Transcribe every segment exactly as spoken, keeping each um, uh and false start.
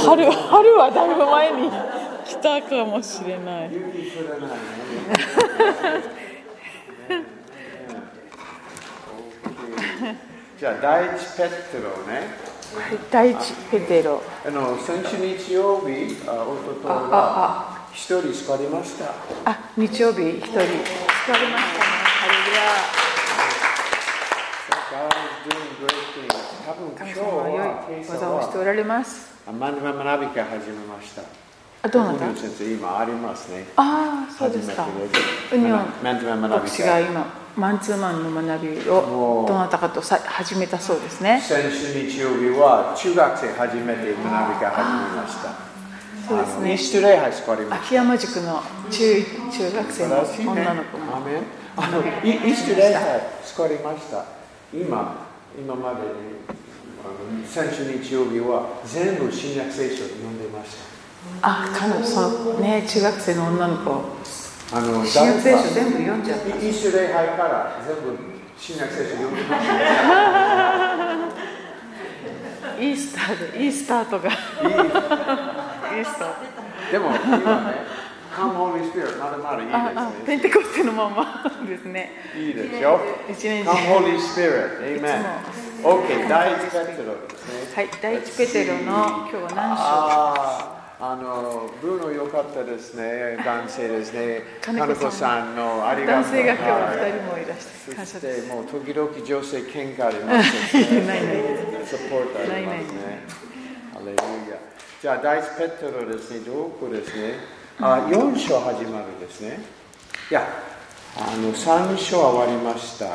春春はだいぶ前に来たかもしれない。 雪降らないね。じゃあ第一ペテロね。 第一ペテロ。 あの先週日曜日、あ、おとといは一人救われました。 あ、日曜日一人救われましたね。ハレルヤ。多分今日は良い技をしておられます。 マンデマ学び会始めました。 あ、どうなった？ 先生今ありますね。 ああ、そうですか。ウニョン牧師が今マンツーマンの学びをどなたかとさ始めたそうですね。 先週日曜日は中学生初めて学び会始めました。 そうですね。 イースト礼拝救われました。 秋山塾の中中学生の女の子も。 アメン。あのイースト礼拝救われました。今今までに先週日曜日は全部新約聖書を読んでました。 あ、彼女そうね、中学生の女の子。 あの新約聖書全部読んじゃった。 イースト礼拝から全部新約聖書読んでました。 イースターでイースターとか。イースター。 でも今ね。Come Holy Spirit まだまだいいですね。 ああ、ペンテコステのままですね。 いいですよ。 一年中。 Come Holy Spirit Amen。 OK、 第一ペテロですね。 はい、第一ペテロの今日は何章？ ああのブルーノ良かったですね。男性ですね。金子さんのありがとう。 男性が今日はふたりもいらして感謝です。 もう時々女性喧嘩ありますね。 ないない。 サポートありますね。ハレルヤ。じゃあ第一ペテロですね。どこですね。あ、よん章始まるですね。いや、あのさん章終わりました。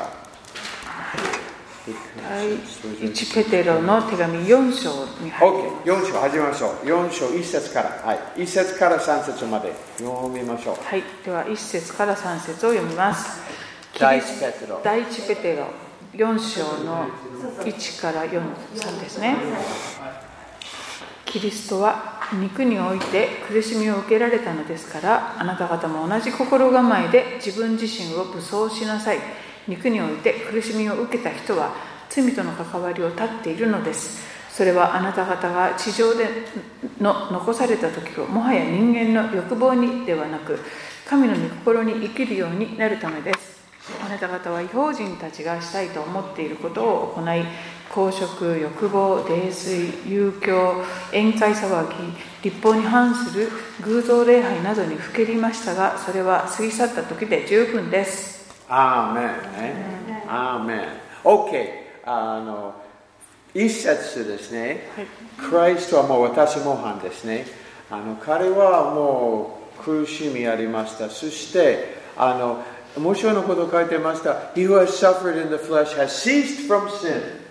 第一ペテロの手紙よん章に入っています。 OK、よん章始めましょう。よん章いっ節から、はい、いっ節からさん節まで読みましょう。 はい、ではいっ節からさん節を読みます。 第一ペテロ。 第一ペテロよん章のいちからよん、さんですね。キリストは肉において苦しみを受けられたのですから、あなた方も同じ心構えで自分自身を武装しなさい。肉において苦しみを受けた人は罪との関わりを断っているのです。それはあなた方が地上での残された時をもはや人間の欲望にではなく、神の御心に生きるようになるためです。あなた方は異邦人たちがしたいと思っていることを行い、公職、欲望、泥酔、遊興、宴会騒ぎ、律法に反する偶像礼拝などにふけりましたが、それは過ぎ去った時で十分です。 アーメンね。アーメン。OK。あの一節ですね。はい、クライストはもう私模範ですね。あの彼はもう苦しみありました。そしてあの面白いのことを書いてました。He who has suffered in the flesh has ceased from sin。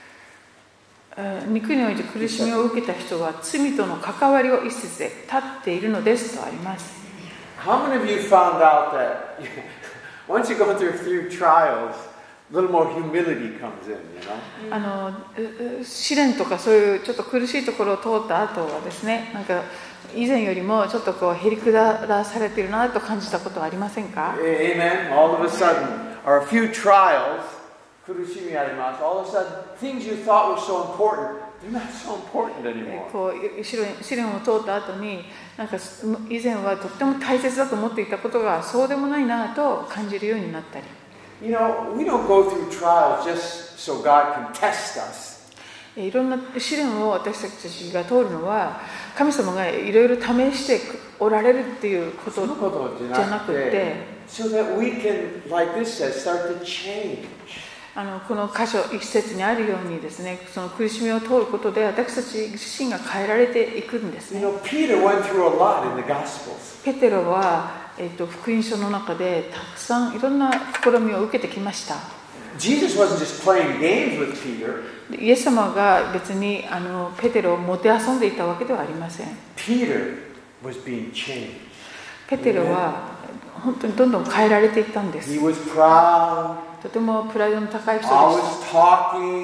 肉において苦しみを受けた人は罪との関わりを一節で立っているのですとあります。 How many of you found out that once you go through a few trials, a little more humility comes in, you know? あの試練とかそういうちょっと苦しいところを通った後はですね、なんか以前よりもちょっとこうへりくだらされているなと感じたことはありませんか？ Amen. All of a sudden, or a few trials, 苦しみあります。All of a sudden, things you thought were so important, they're not so important anymore. こう試練を通った後に、なんか以前はとっても大切だと思っていたことがそうでもないなと感じるようになったり。 You know, we don't go through trials just so God can test us. いろんな試練を私たちが通るのは、神様がいろいろ試しておられるっていうことじゃなくて、 so that we can, like this says, start to change. あのこの箇所一節にあるようにですね、その苦しみを通ることで私たち自身が変えられていくんですね。 You know, Peter went through a lot in the Gospels. ペテロは、えっと、福音書の中でたくさんいろんな試みを受けてきました。 Jesus wasn't just playing games with Peter. イエス様が別にあのペテロをもてあそんでいたわけではありません。 Peter was being changed. ペテロは本当にどんどん変えられていったんです。 He was proud. とてもプライドの高い人でした。 Always talking.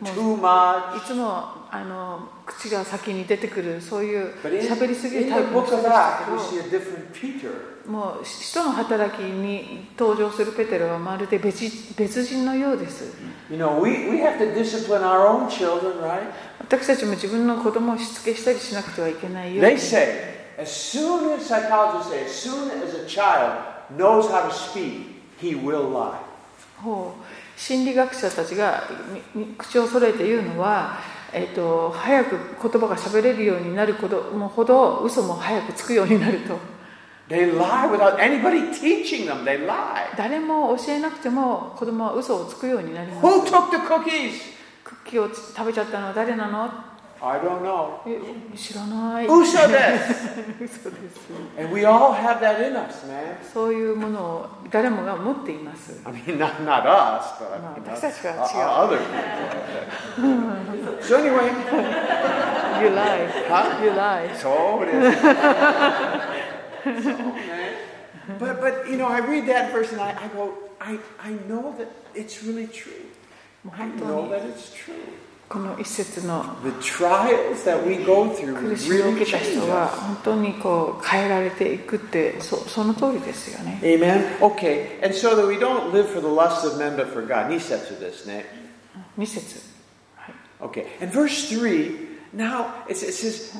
too much. いつもあの口が先に出てくるそういう But in, 喋りすぎる in タイ the プの book 人 of でした Acts, け we ど、 see a different Peter. もう使徒の働きに登場するペテロはまるで 別, 別人のようです。 You know, we, we have to discipline our own children, right? 私たちも自分の子供をしつけしたりしなくてはいけないよう They に。 say, as soon as psychologists say, as soon as a child knows how to speak, he will lie. ほう心理学者たちが口を揃えて言うのは、えー、と早く言葉が喋れるようになる子供ほど嘘も早くつくようになると。 They lie without anybody teaching them. They lie. 誰も教えなくても子供は嘘をつくようになります。 Who took the cookies? クッキーを食べちゃったのは誰なの？ I don't know. え知らない。 嘘です。 嘘です。 And we all have that in us, man. そういうものを誰もが持っています。 I mean, not, not us, but No, you know, 私たちは違う。 uh, other people. So anyway, You lie. Huh? You lie. so it is. So, man. But, but, you know, I read that verse and I, I go, I, I know that it's really true. I know that it's true. この一節の The trials that we go through 苦しみを really 受けた change 人は us. 本当にこう変えられていくってそ、その通りですよね。 Amen. Okay, and so that we don't live for the lust of men but for God. に節ですね。 に節。はい。 Okay, and verse three, now it, it says,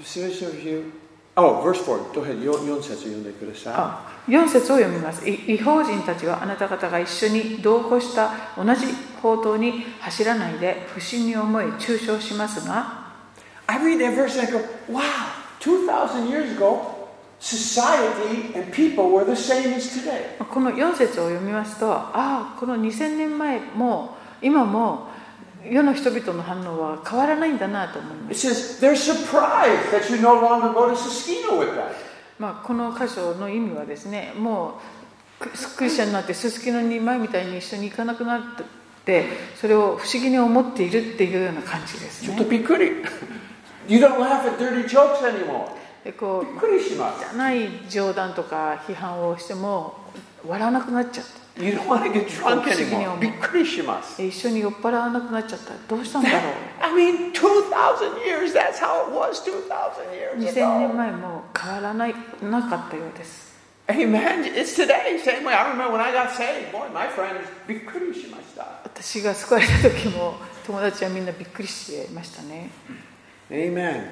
oh, verse four, go ahead, よん節読んでください。 あ、よん節を読みます。違法人たちはあなた方が一緒に同行した同じ法灯に走らないで不審に思い中傷しますが、 I read that verse and I go, wow, two thousand years ago, society and people were the same as today. このよん節を読みますと、ああ、このにせんねんまえも今も世の人々の反応は変わらないんだなと思います。 It says, they're surprised that you no longer go to Siskino with them. まあ、この箇所の意味はですね、もうクリスチャンになってすすきのに前みたいに一緒に行かなくなってそれを不思議に思っているっていうような感じですね。 ちょっとびっくり。You don't laugh at dirty jokes anymore. でこうびっくりします。 じゃない冗談とか批判をしても笑わなくなっちゃった。 You don't want to get drunk anymore. びっくりします。 一緒に酔っ払わなくなっちゃった。どうしたんだろう。 I mean, two thousand years, that's how it was two thousand years にせんねん ago. まえも変わらないなかったようです。 Amen. It's today. Same way. I remember when I got saved. Boy, my friends, びっくりしました。 私が救われた時も友達はみんなびっくりしていましたね。 Amen.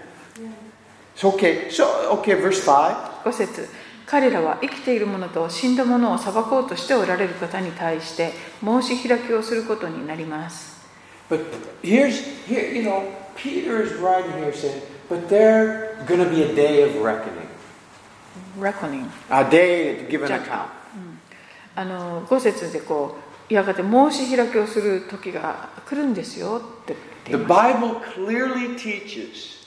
So, okay. So, okay, verse five. ご節。彼らは生きている者と死んだ者を裁こうとしておられる方に対して申し開きをすることになります。 But here's, here, you know, Peter is writing here saying, but there's going to be a day of reckoning. Reckoning. A day to give an account. あのご節でこうやがて申し開きをする時が来るんですよって言 The っています。 Bible clearly teaches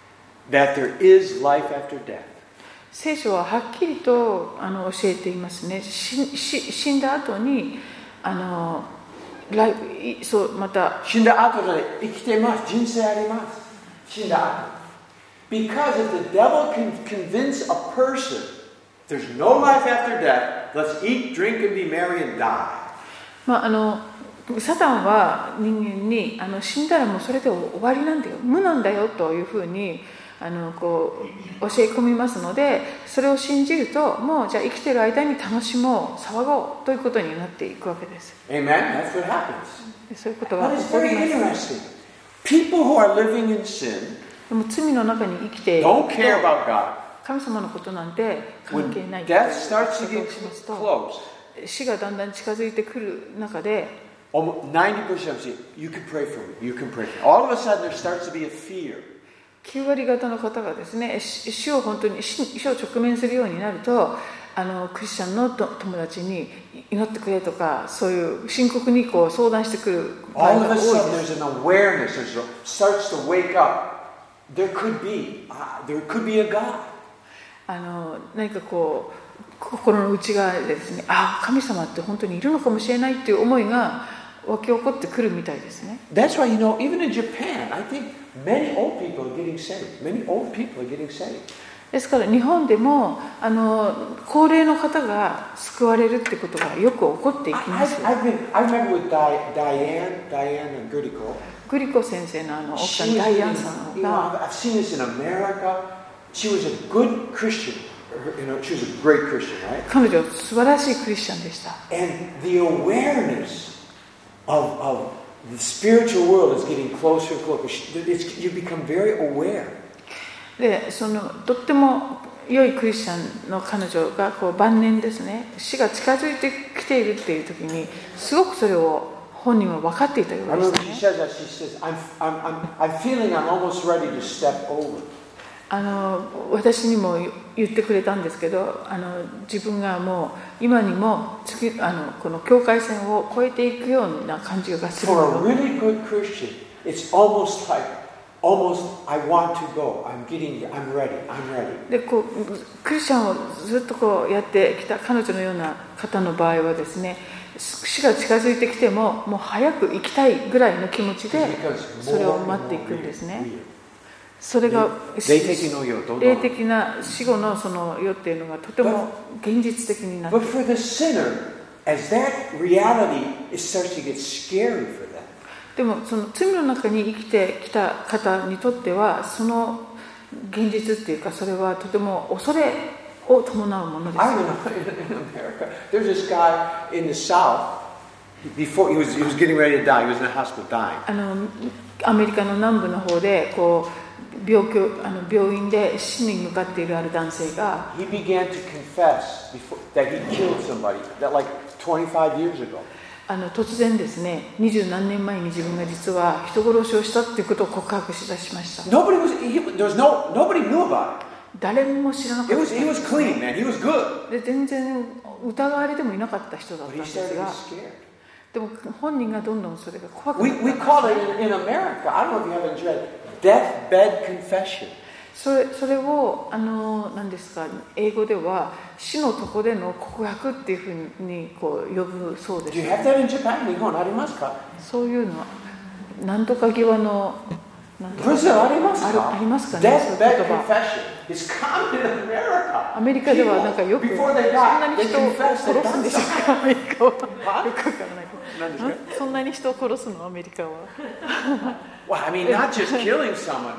that there is life after death. 聖書ははっきりとあの教えていますね。しし死んだ後にあの来そうまた死んだ後で生きてます。人生あります。死んだ後。Because if the devil can convince a person there's no life after death, let's eat, drink, and be merry and die. まああのサタンは人間にあの死んだらもうそれで終わりなんだよ、無なんだよというふうにあのこう教え込みますので、それを信じるともうじゃあ生きている間に楽しもう騒ごうということになっていくわけです。 Amen. That's what happens. そういうことが That 起 is こり very ます。 interesting. People who are living in sin でも罪の中に生きている don't care about God. 神様のことなんて関係ない When という death starts こ to とを get しますと、 close, 死がだんだん近づいてくる中で almost ninety percent say, you can pray for me, you can pray for me. All of a sudden there starts to be a fear. きゅう割方の方がですね、死を本当に死を直面するようになると、あのクリスチャンの友達に祈ってくれとか、そういう深刻にこう相談してくる場合 All が of 多 a い sudden です。 there's an awareness, there's a, starts to wake up. There could be, uh, there could be a God. あの何かこう心の内側でですね、ああ神様って本当にいるのかもしれないっていう思いが湧き起こってくるみたいですね。 That's why, you know, even in Japan, I think many old people are getting saved. Many old people are getting saved. ですから日本でもあの高齢の方が救われるってことがよく起こっていき I, ます。 I've, I've been, I remember with Di, Diane, Diane and Guriko. グリコ先生のあの奥さんダイアンさんが I've seen this in America. She was a good Christian. You know, she was a great Christian, right? 彼女素晴らしいクリスチャンでした。 And the awareness of, of the spiritual world is getting closer and closer. It's, you become very aware. で、そのとっても良いクリスチャンの彼女がこう晩年ですね、死が近づいてきているっていう時に、すごくそれを本人は分かっていたよう I で remember し she た says ね。 that. She says, I'm, I'm, I'm, I'm feeling I'm almost ready to step over. あの私にも言ってくれたんですけど、あの自分がもう今にも次あのこの境界線を越えていくような感じがする For a の。 really good Christian, it's almost like, almost, I want to go. I'm getting, I'm ready. I'm ready. でこうクリスチャンをずっとこうやってきた彼女のような方の場合はですね、死が近づいてきてももう早く行きたいぐらいの気持ちでそれを待っていくんですね。それが霊的の世、どんどん霊的な死後のその世っていうのがとても現実的になってい But る。 for the sinner, as that reality, it starts to get scary for them. でもその罪の中に生きてきた方にとってはその現実っていうかそれはとても恐れを伴うものです。 I know in America, there's this guy in the South. Before he was, he was getting ready to die. He was in the hospital dying. あのアメリカの南部の方でこう病気あの病院で死に向かっているある男性が He began to confess before, that he killed somebody. That like twenty-five years ago. あの突然ですね、二十何年前に自分が実は人殺しをしたっていうことを告白しだしました。 Nobody was. He, there was no. Nobody knew about it. 誰も知らなか It った。 was. He was clean, man. He was good. で全然疑われてもいなかった人だった But ん he です started to が get scared. でも本人がどんどんそれが怖く We なって we call it in, in America. I don't know if you haven't read deathbed confession. それそれをあの何ですか、英語では死のとこでの告白っていうふうにこう呼ぶそうで Do す、 you have that in Japan? 日本ありますか？ そういうのは何とか際のなんとかブラジルありますか？ あるありますかね、そういう Deathbed 言葉。 confession is common in America. アメリカではなんかよく People, そん before they な die, に they 人を confess 殺 they've すん done でしょう something. か、アメリカは。よくわはからない。 何ですか？ そんなに人を殺すのアメリカは。 Well, I mean, not just killing someone.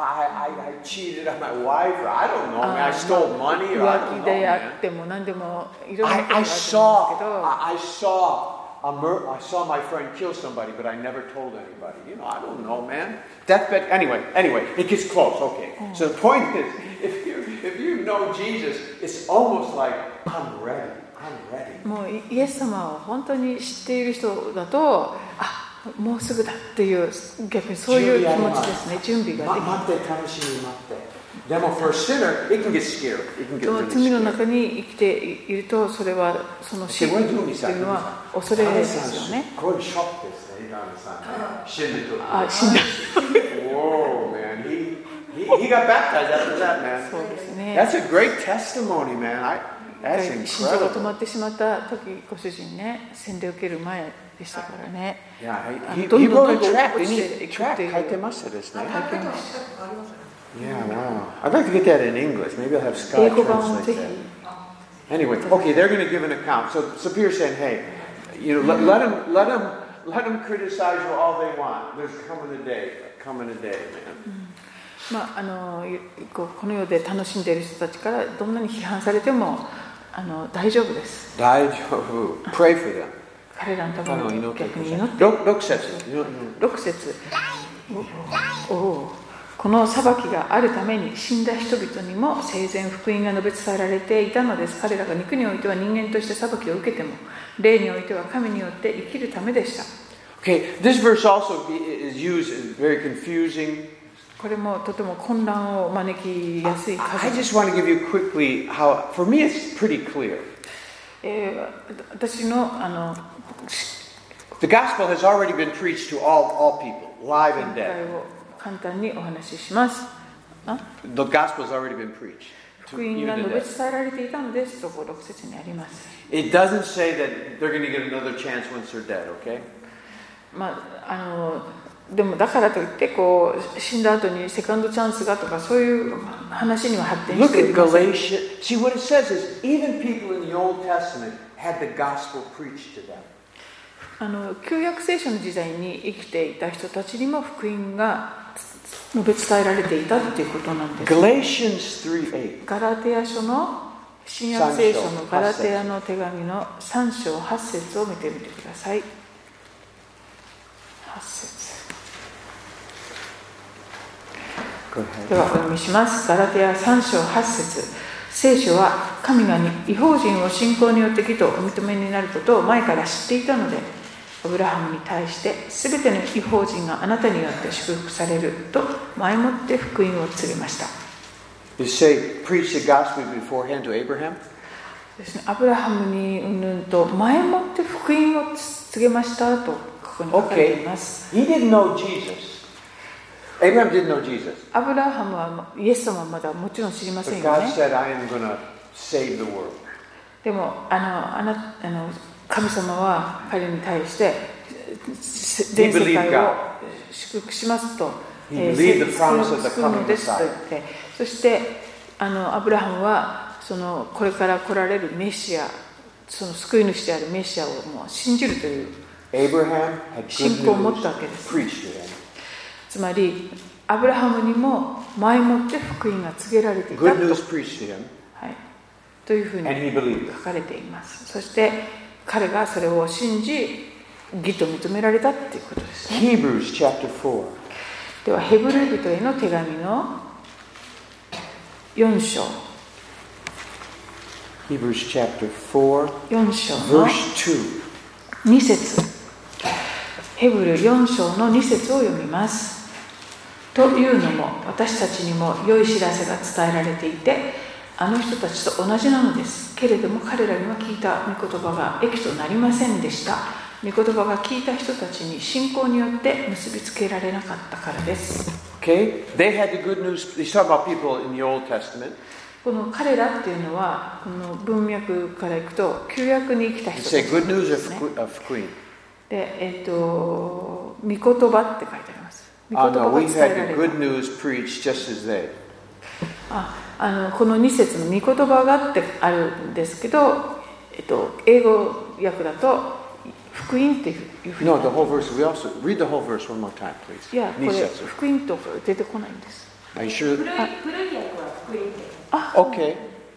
I, I, I cheated on my wife, or I don't know, man. I stole money, or I 浮 don't 気 know, であ man. っても何でもいろんな I, ことがあ I るんですけ saw, ど、 I, I saw, a mur- I saw my friend kill somebody, but I never told anybody. You know, I don't know, man. Deathbed. Anyway, anyway, it gets close. Okay. So the point is, if you if you know Jesus, it's almost like I'm ready. I'm ready. もうイエス様を本当に知っている人だと、あ、もうすぐだっていう逆にそういう気持ちですね。準備ができる。 待って楽しみ待って。でも for a sinner, it can get scary. It can get その really 罪の scary. 中に生きていると、それはその死っていうのは恐れですよね。 これショックですね、今のさん。死んでる。 あ、死んだ。 Whoa, man. He, he, he got baptized after that, man. そうですね。 That's a great testimony, man. I, that's 心臓が止ま incredible. ってしまった時、ご主人ね、洗礼を受ける前でしたからね。 Yeah, あ he, の he, どん he どん wrote どん a どん tract. 落 Didn't ち he? ていく Tract っていう。 書いてましたですね。 書いてました。 Yeah, wow. I'd like to get that in English. Maybe I'll have 英 Scott 語版をぜ translate ひ。 that. Anyway, okay, they're going to give an account. So, so Peter's saying, hey, you know, let, let them, let them, let them criticize you all they want. There's coming a day, coming a day, man. まあ、あのこうこの世で楽しんでいる人たちからどんなに批判されてもあの大丈夫です。 大丈夫. Pray for them. 彼らのために逆に祈って。 ろく節。 ろく節。おお、この裁きがあるために死んだ人々にも生前福音が述べ伝えられていたのです。彼らが肉においては人間として裁きを受けても、霊においては神によって生きるためでした。 Okay, this verse also is used as very confusing. これもとても混乱を招きやすい I 数。 just want to give you quickly how, for me it's pretty clear. えー、私のあの The gospel has already been preached to all, all people, live 見 and 解 dead. を簡単にお話しします。あ The gospel has already been preached. 福音が述べ伝えられていたのですとこうろく節にあります。 It doesn't say that they're going to get another chance once they're dead, okay? まあ、あのでもだからといってこう死んだ後にセカンドチャンスがとかそういう話には発展し Look てい at ません。 Galatians. See, what it says is even people in the Old Testament had the gospel preached to them. あの旧約聖書の時代に生きていた人たちにも福音が述べ伝えられていたということなんです。 Galatians three eight ガラテヤ書の新約聖書のガラテヤの手紙のさん章はち節を見てみてください。はち節ではお読みします。ガラテヤさん章はち節。聖書は神が異邦人を信仰によって義とお認めになることを前から知っていたので、アブラハムに対してすべての異邦人があなたによって祝福されると前もって福音を告げました。 You say, preach the gospel beforehand to Abraham? ですね、アブラハムにうんぬんと前もって福音を告げましたとここに書かれています。 Okay. He didn't know Jesus. Abraham didn't know Jesus. アブラハムはイエス様はまだもちろん知りません But よ God ね。 said, I am going to save the world. でもあのあなあの神様は彼に対して全世界を祝福しますと、えー、救うのですと言って、そしてあのアブラハムはそのこれから来られるメシア、その救い主であるメシアをもう信じるという信仰を持ったわけです。つまりアブラハムにも前もって福音が告げられていたと、はい、というふうに書かれています。そして彼がそれを信じ義と認められたということですね。 Hebrews chapter four. ではヘブル人への手紙のよん章、 Hebrews chapter four, よん章の verse two. に節、ヘブルよん章のに節を読みます。というのも私たちにも良い知らせが伝えられていて、あの人たちと同じなのです。けれども彼らには聞いた御言葉が益となりませんでした。御言葉が聞いた人たちに信仰によって結びつけられなかったからです。 Okay, they had the good news. He's talking about people in the Old Testament. この彼らっていうのはこの文脈からいくと旧約に生きた人たちですね。 Say good news of queen. で、えっと御言葉って書いてあります。御言葉 Uh, が no, 伝 we've えら had れ the た。 good news preached just as they. ああのこのに節の御言葉がってあるんですけど、えっと、英語訳だと福音っていうふうに。 No, the whole verse. We also read the whole verse one more time, please. いや、これ福音とか出てこないんです。 Are you sure? 古い古い訳は福音って。 あ、 Okay.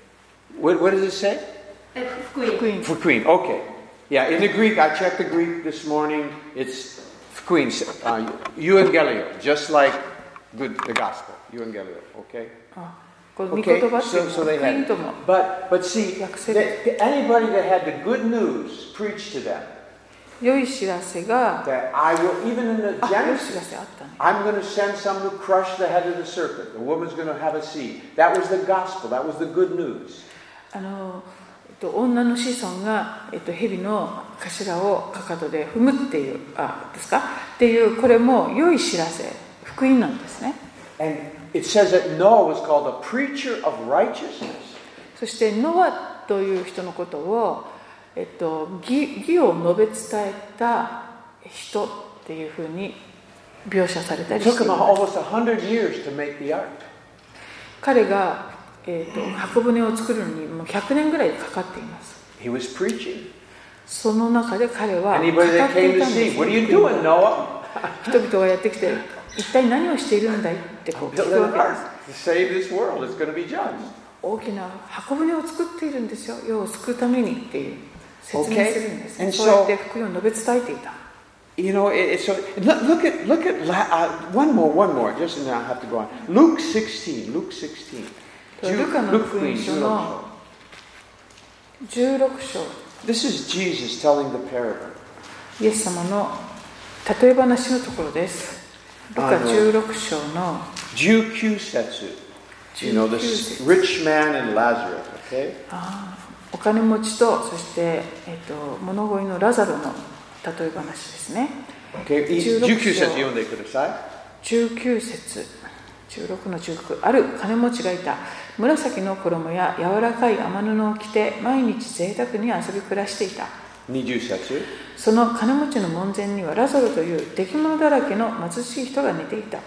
What, what does it say? え福音。 福音。 For queen. Okay. Yeah, in the Greek, I checked the Greek this morning. It's queen, uh, euangelio, just like good, the gospel. Euangelio. Okay. あ、この御言葉っていうのは so, so they 福音 had. とも。 But but see, that, anybody that had the good news preached to them 良い知らせが、 that I will, even in the あ、良い知ら Genesis, せあったね。 I'm going to send some to crush the head of the serpent. The woman's going to have a seed. That was the gospel. That was the good news. あの、えっと、女の子孫が、えっと、蛇の頭をかかとで踏むっていう、あ、ですかっていう、これも良い知らせ、福音なんですね。 And it says that Noah was called a preacher of righteousness. そしてノアという人のことを、えっと、義, 義を述べ伝えた人っていうふうに描写されたりしています。 almost one hundred years to make the ark. 彼が、えっと、箱舟を作るのにもうひゃくねんぐらいかかっています。 He was preaching. その中で彼は語ってい Anybody that た came ん to です。 see, what are you doing, Noah? 人々がやってきて一体何をしているんだいってこう聞 Build く an わけです。 ark to save this world. It's going to be judged. 大きな箱舟を作っているんですよ。世を救うためにっていう説明するんです、ね。 Okay. そうやって福音を述べ伝えていた。 You know, it, it's so. Look at look at uh, one more, one more. Just and then I have to go on. Luke sixteen. Luke sixteen. ルカの福音書のじゅうろく章。 This is Jesus telling the parable. イエス様の例え話のところです。ルカじゅうろく章のじゅうきゅう節. You know, the rich man and Lazarus. Okay. あお金持ちとそして、えっと、物乞いのラザロの例え話ですね。 Okay. じゅうきゅう節読んでください。 じゅうきゅう節、じゅうろくのじゅうきゅう。ある金持ちがいた。紫の衣や柔らかい雨布を着て毎日贅沢に遊び暮らしていた。 にじゅう節。 その金持ちの門前にはラザロという出来物だらけの貧しい人が寝ていた。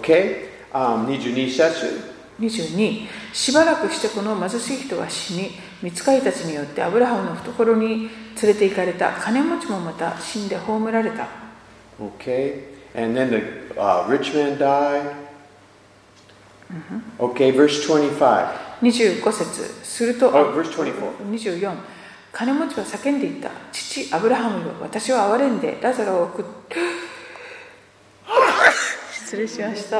Okay. Um, にじゅうに節。 にじゅうに、しばらくしてこの貧しい人は死に、 御使いたちによってアブラハムの懐に連れて行かれた金持ちもまた死んで葬られた。 Okay, and then the uh, rich man died. Okay, verse twenty-five. にじゅうご節すると、 Oh, verse twenty-four. にじゅうよん、金持ちは叫んでいった。父アブラハムよ、私は憐れんでラザロを送って失礼しました。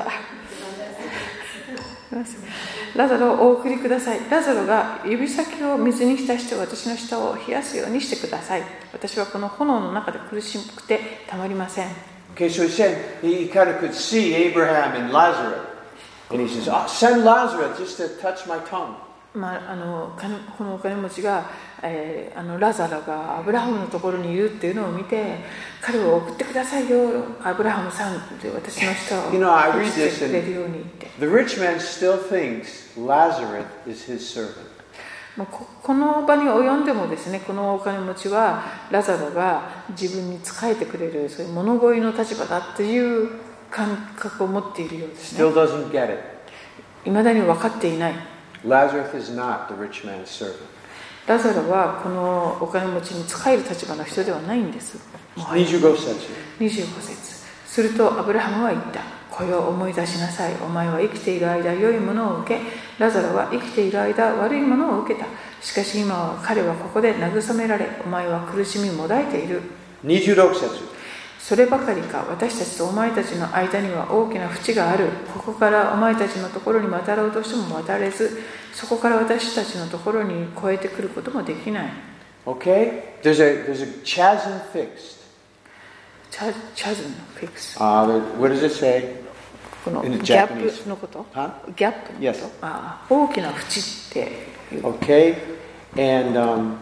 ラザロをお送りください。ラザロが指先を水に浸して私の舌を冷やすようにしてください。私はこの炎の中で苦しくてたまりません。 Okay, so he said he kind of could see Abraham and Lazarus. And he says, oh, send Lazarus just to touch my tongue. まあ、あのこのお金持ちが、えー、あのラザロがアブラハムのところにいるっていうのを見て、彼を送ってくださいよ、アブラハムさんって私の舌を You know, I 冷 read やして this くれるようにって。 and the rich man still thinks Lazarus is his servant. まあ、こ, この場に及んでもですね、このお金持ちはラザロが自分に仕えてくれる、そういう物乞いの立場だっていう感覚を持っているようですね。 Still doesn't get it. 未だに分かっていない。 Lazarus is not the rich man's servant. ラザロはこのお金持ちに仕える立場の人ではないんです。 にじゅうご節。 にじゅうご節するとアブラハムは言った。これを思い出しなさい。お前は生きている間良いものを受け、ラザロは生きている間悪いものを受けた。しかし今は彼はここで慰められ、お前は苦しみもだえている。 にじゅうろく節。 そればかりか、私たちとお前たちの間には大きな淵がある。ここからお前たちのところに渡ろうとしても渡れず、そこから私たちのところに越えてくることもできない。 Okay? There's a, there's a chasm fixed. チャチャズムフィックス。 Uh, what does it say? このギ In ャ the ッ Japanese. プのこと、 Huh? ギャップのこと、 Yes. ああ大きな淵っていう。 Okay? And, um,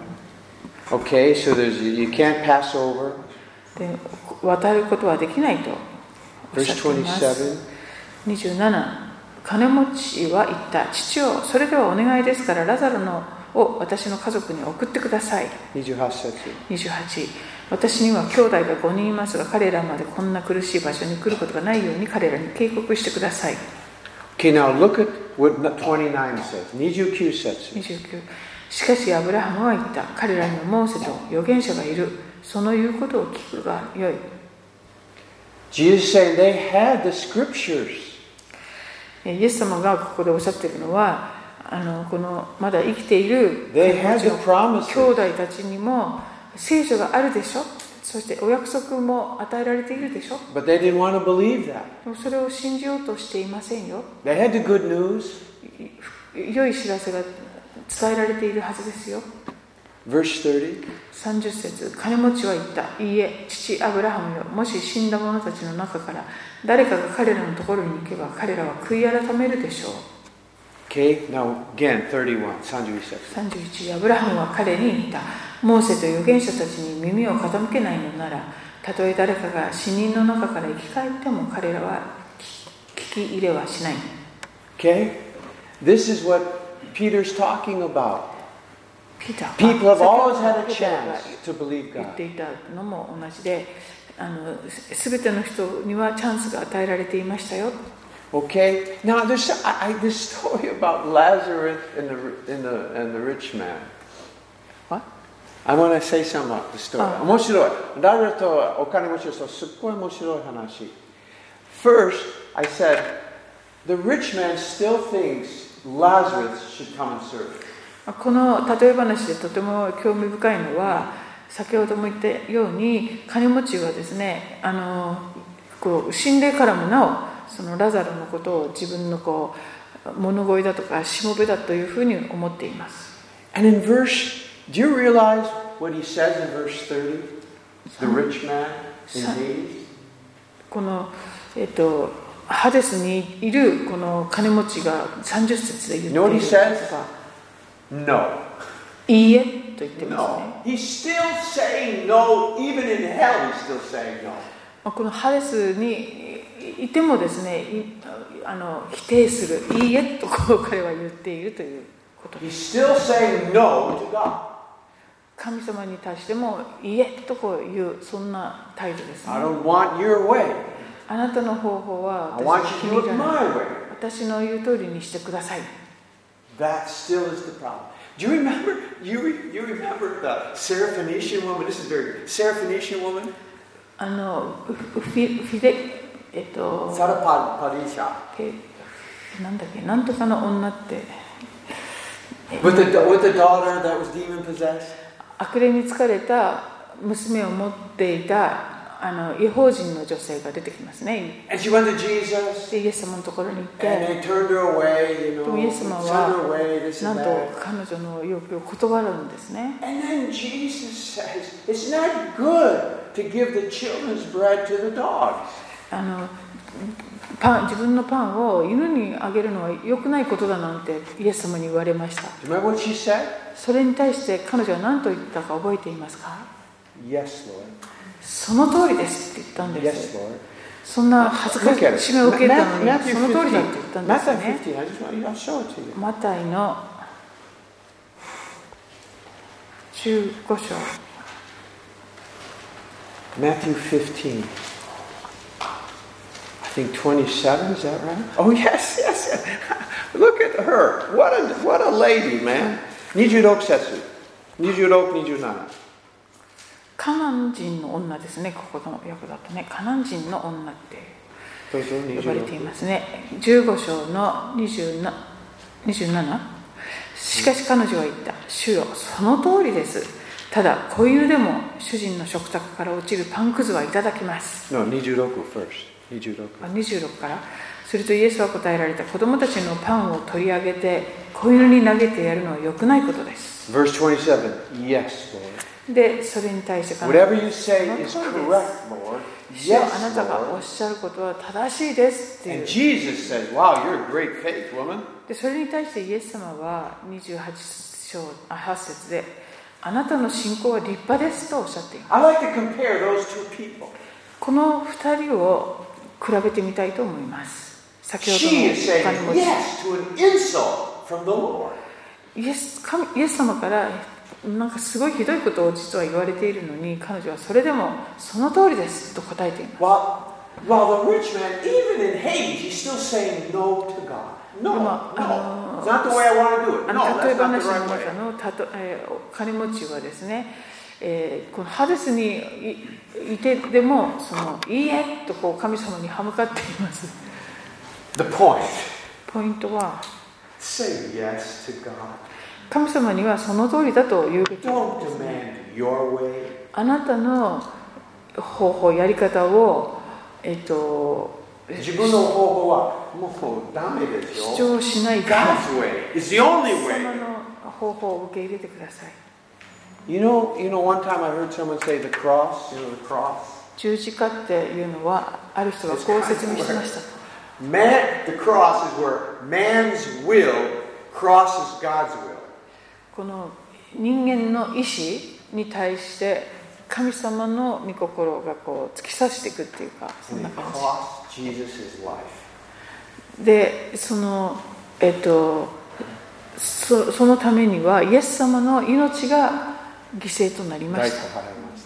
okay, so there's, you can't pass over. で渡ることはできないとおっしゃっています。にじゅうなな、金持ちは言った。父よ、それではお願いですからラザロのを私の家族に送ってください。 にじゅうはち節。 にじゅうはち、私には兄弟がごにんいますが、彼らまでこんな苦しい場所に来ることがないように彼らに警告してください。 Okay, now look at what twenty-nine says. にじゅうきゅう節。 にじゅうきゅう、しかしアブラハムは言った。彼らにはモーセと預言者がいる。その言うことを聞くがよい。 Jesus saying they had the scriptures. イエス様がここでおっしゃっているのは、あのこのまだ生きている They had the promises. 兄弟たちにも聖書があるでしょ。そしてお約束も与えられているでしょ。 But they didn't want to believe that. でもそれを信じようとしていませんよ。 They had the good news. 良い知らせが伝えられているはずですよ。 Verse thirty. さんじゅっ節、金持ちは言った。いいえ、父アブラハムよ、もし死んだ者たちの中から誰かが彼らのところに行けば彼らは悔い改めるでしょう。 Okay, now again, thirty-one. さんじゅういち節。 さんじゅういち、アブラハムは彼に言った。モーセと預言者たちに耳を傾けないのなら、たとえ誰かが死人の中から生き返っても彼らは聞き入れはしない。 Okay? This is what Peter's talking about. ピーター People have always had a ペテロが chance to believe 言っ God. ていたのも同じで、あの全ての人にはチャンスが与えられていましたよ。 Okay? Now, there's I, I, this story about Lazarus and the, and, the, and the rich man. What? I want to say something about the story. あ。 面白い。ラザロとお金持ちの人、すっごい面白い話。First, I said, the rich man still thinks Lazarus should come and serve. この例え話でとても興味深いのは、先ほども言ったように金持ちはですね、あのこう死んでからもなおそのラザロのことを自分のこう物乞いだとかしもべだというふうに思っています。 And in verse, do you realize what he says in verse thirty? The rich man in Hades? この、えっと、ハデスにいるこの金持ちがさんじゅっ節で言っているんですが、 No. いいえと言ってますね。 No. He's still saying no. Even in hell, he's still saying no. このハデスにいてもですね、あの否定する、いいえとこう彼は言っているということです。 He's still saying no to God. 神様に対してもいいえとこういうそんな態度ですね。 I don't want your way. あなたの方法は I 私 want の you 気 to に入 do ら it ない。 my way. 私の言う通りにしてください。 That still is the problem. Do you remember? You, re, you remember the Syrophoenician woman? This is very Syrophoenician woman. あのフィフィデえっとサラパパリシャ。 なんだっけ、なんとかの女って。 With the with the daughter that was demon possessed. 悪霊に疲れた娘を持っていたあの異邦人の女性が出てきますね。 And she went to Jesus. でイエス様のところに行って、 And they turned her away, you know. でもイエス様 Sent her away, は this なん and と that. 彼女の要求を断るんですね。 And then Jesus says, "It's not good to give the children's bread to the dogs." あのパン自分のパンを犬にあげるのは良くないことだなんてイエス様に言われました。 Do you remember what she said? それに対して彼女は何と言ったか覚えていますか？ Yes, Lord. その通りですって言ったんです。 Yes, Lord. そんな恥ずかしめを受けたのに Matthew その通りだって言ったんですよ Matthew ね。 fifteen. I just want you to show it to you. マタイのじゅうご章 Matthew fifteen. I think twenty-seven, is that right? Oh, yes, yes, yes. Look at her. What a, what a lady, man. にじゅうろく節。にじゅうろく、にじゅうなな。 カナン人の女ですね。ここの訳だとね、カナン人の女ってどうぞ、 呼ばれていますね。じゅうご章のにじゅうなな。しかし彼女は言った。主よ、その通りです。ただ子犬でも主人の食卓から落ちるパンくずはいただきます。 No, にじゅうろく first. にじゅうろく。 あ、にじゅうろくから。するとイエスは答えられた。子供たちのパンを取り上げて子犬に投げてやるのは良くないことです。 Verse twenty-seven. Yes, Lord. で、それに対して彼女は Whatever you say is correct, Lord. 主よ、 Yes, あなたがおっ Lord. しゃることは正しいですっていう。 And Jesus says, wow, you're a great faith, woman. でそれに対してイエス様はにじゅうはち章あはち節で、あなたの信仰は立派ですとおっしゃっています。 I like to compare those two people. この二人を比べてみたいと思います。先ほど She is の saying 他にも yes to an insult from the Lord. イエス神イエス様からなんかすごいひどいことを実は言われているのに、彼女はそれでもその通りですと答えています。 While, while the rich man, even in Hades, he's still saying no to God. No, no, it's not the way I want to do it. あ No, の例え that's not 話 the の right 中 way. のたと、えー、金持ちはですね、えー、このハデスに い, いてでもそのいいえとこう神様に歯向かっています。 The point. ポイントは Say yes to God. 神様にはその通りだと言うべき。 Don't demand your way. あなたの方法やり方を、えっと、 自分の方法はもうダメですよ。 主張しないで God's way is the only 神様 way. の方法を受け入れてください。 You know, you know, one time I heard someone say the cross, you know, the cross. 十字架っていうのはある人がこう説明しました。 Man, the cross is where man's will crosses God's will. この人間の意志に対して神様の御心がこう突き刺していくっていうか、そん And な it 感 cost Jesus' life. じで、そのえっと そ, そのためにはイエス様の命が犠牲となりました。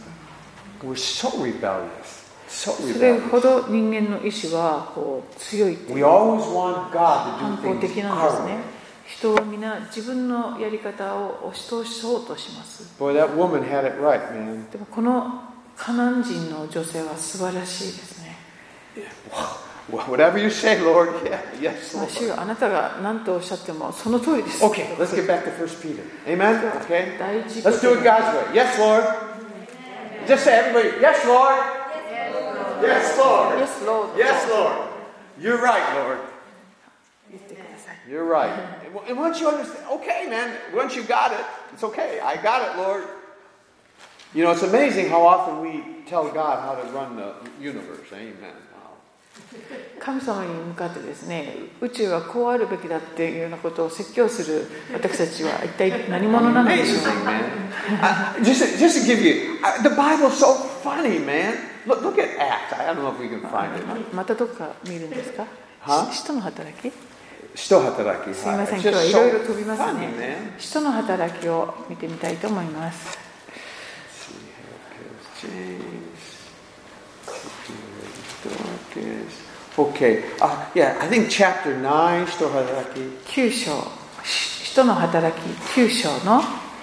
We're so rebellious. So それ rebellious. ほど人間の意志はこう強いってい We う always want God to 反 do 抗 things 的なんです our ね way.。 人は皆自分のやり方を押し通そうとします。 Boy, that woman had it right, man. でもこのカナン人の女性は素晴らしいですね。 Well, whatever you say, Lord. Yeah, yes, まあ Lord. 主よ、あなたが何とおっしゃってもその通りです。 Okay, let's get back to First Peter. Amen? Okay? 第一 Let's do it God's way. Yes, Lord. Just say everybody, yes, Lord. Yes, Lord. Yes, Lord. Yes, Lord. You're right, Lord. 言ってください。 You're right. And once you understand, okay, man, once you got it, it's okay. I got it, Lord. You know, it's amazing how often we tell God how to run the universe. Amen. Wow. 神様に向かってですね、宇宙はこうあるべきだっていうようなことを説教する私たちは一体何者なのでしょう Amazing, か。 man. Uh, just, to, just to give you, uh, the Bible's so funny, man. Look, look at Acts. I don't know if we can find it. ままたどっか見るんですか？ は使徒の働き？ 使徒働き。 すいません、 It's 今日は just いろいろ so 飛びます funny, ね。 man. 使徒の働きを見てみたいと思います。 Okay, uh, yeah, I think chapter nine, 使徒働き。 きゅう章、使徒の働ききゅう章の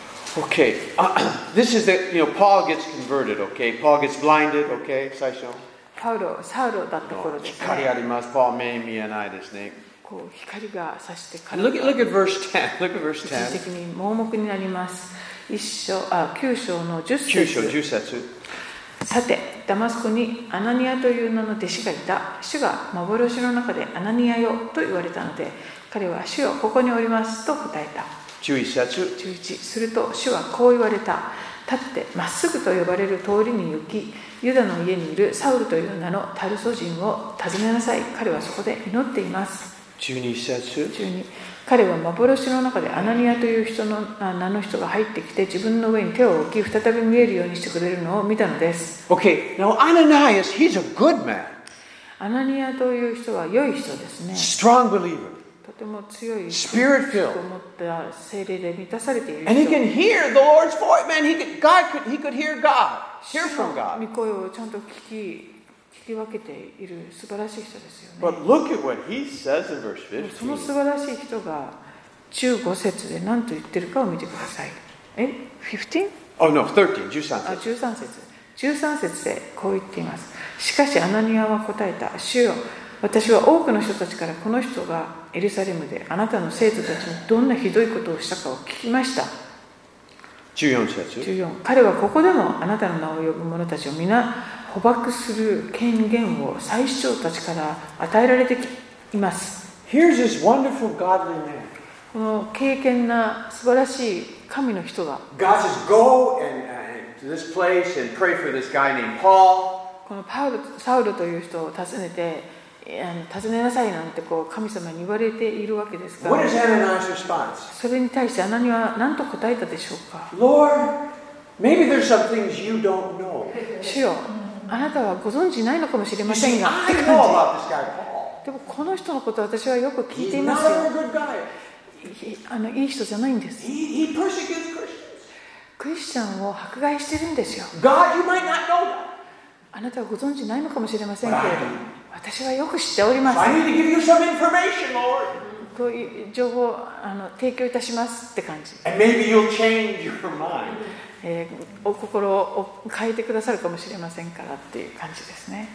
Okay, uh, this is the, you know, Paul gets converted, okay? Paul gets blinded, okay? 最初。 パウロ、サウロだった頃です光あね。 ります。パウ目見えないですね。 こう光が差してから Look at, look at verse ten. Look at verse 一時 ten. 的に盲目になります。一章あきゅう章のじゅっきゅう章節。 じゅっ節。 さて、ダマスコにアナニアという名の弟子がいた。主が幻の中でアナニアよと言われたので、彼は主よここにおりますと答えた。 じゅういち節。 じゅういちすると主はこう言われた。立ってまっすぐと呼ばれる通りに行き、ユダの家にいるサウルという名のタルソ人を訪ねなさい。彼はそこで祈っています。 じゅうに節。 じゅうに彼は幻の中でアナニアという人の名の人が入ってきて自分の上に手を置き再び見えるようにしてくれるのを見たのです。 Okay, now Ananias, he's a good man. アナニアという人は良い人ですね。 Strong believer. とても強い Spirit filled. と思った精霊で満たされている And he 人。 can hear the Lord's voice. Man, he could, God could, he could hear God. Hear from 御 God. 声をちゃんと聞き聞き分けている素晴らしい人ですよね。 But look at what he says in verse その fifteen. 素晴らしい人がじゅうご節で何と言ってるかを見てください。え じゅうご? Oh no, thirteen. じゅうさんあ節。 じゅうさん節。じゅうさん節でこう言っています。しかしアナニアは答えた。主よ、私は多くの人たちからこの人がエルサレムであなたの生徒たちにどんなひどいことをしたかを聞きました。 じゅうよん節。 じゅうよん彼はここでもあなたの名を呼ぶ者たちを皆捕獲する権限を祭司長たちから与えられています。 Here's this wonderful godly man. この敬虔な素晴らしい神の人が God says, go and, uh, to this place and pray for this guy named Paul. このパウロサウルという人を訪ねてあの訪ねなさいなんてこう神様に言われているわけですが What is Ananias' response? それに対してアナニアは何と答えたでしょうか。 Lord, maybe there's some things you don't know. 主よ、あなたはご存知ないのかもしれ You ません see, が I って know 感 about this guy, Paul. じ。でもこの人のことは私はよく聞い He's てい not ますよ。 a good guy. いあのいい人じゃないんです。 He, he persecutes Christians. クリスチャンを迫害してるんですよ。 God, you might not know that. あなたはご存知ないのかもしれませんけれども、私はよく知っておりま So す。 I need to give you some information, Lord. こういう情報をあの提供いたしますって感じ。 And maybe you'll change your mind. えーお心を変えてくださるかもしれませんからっていう感じですね。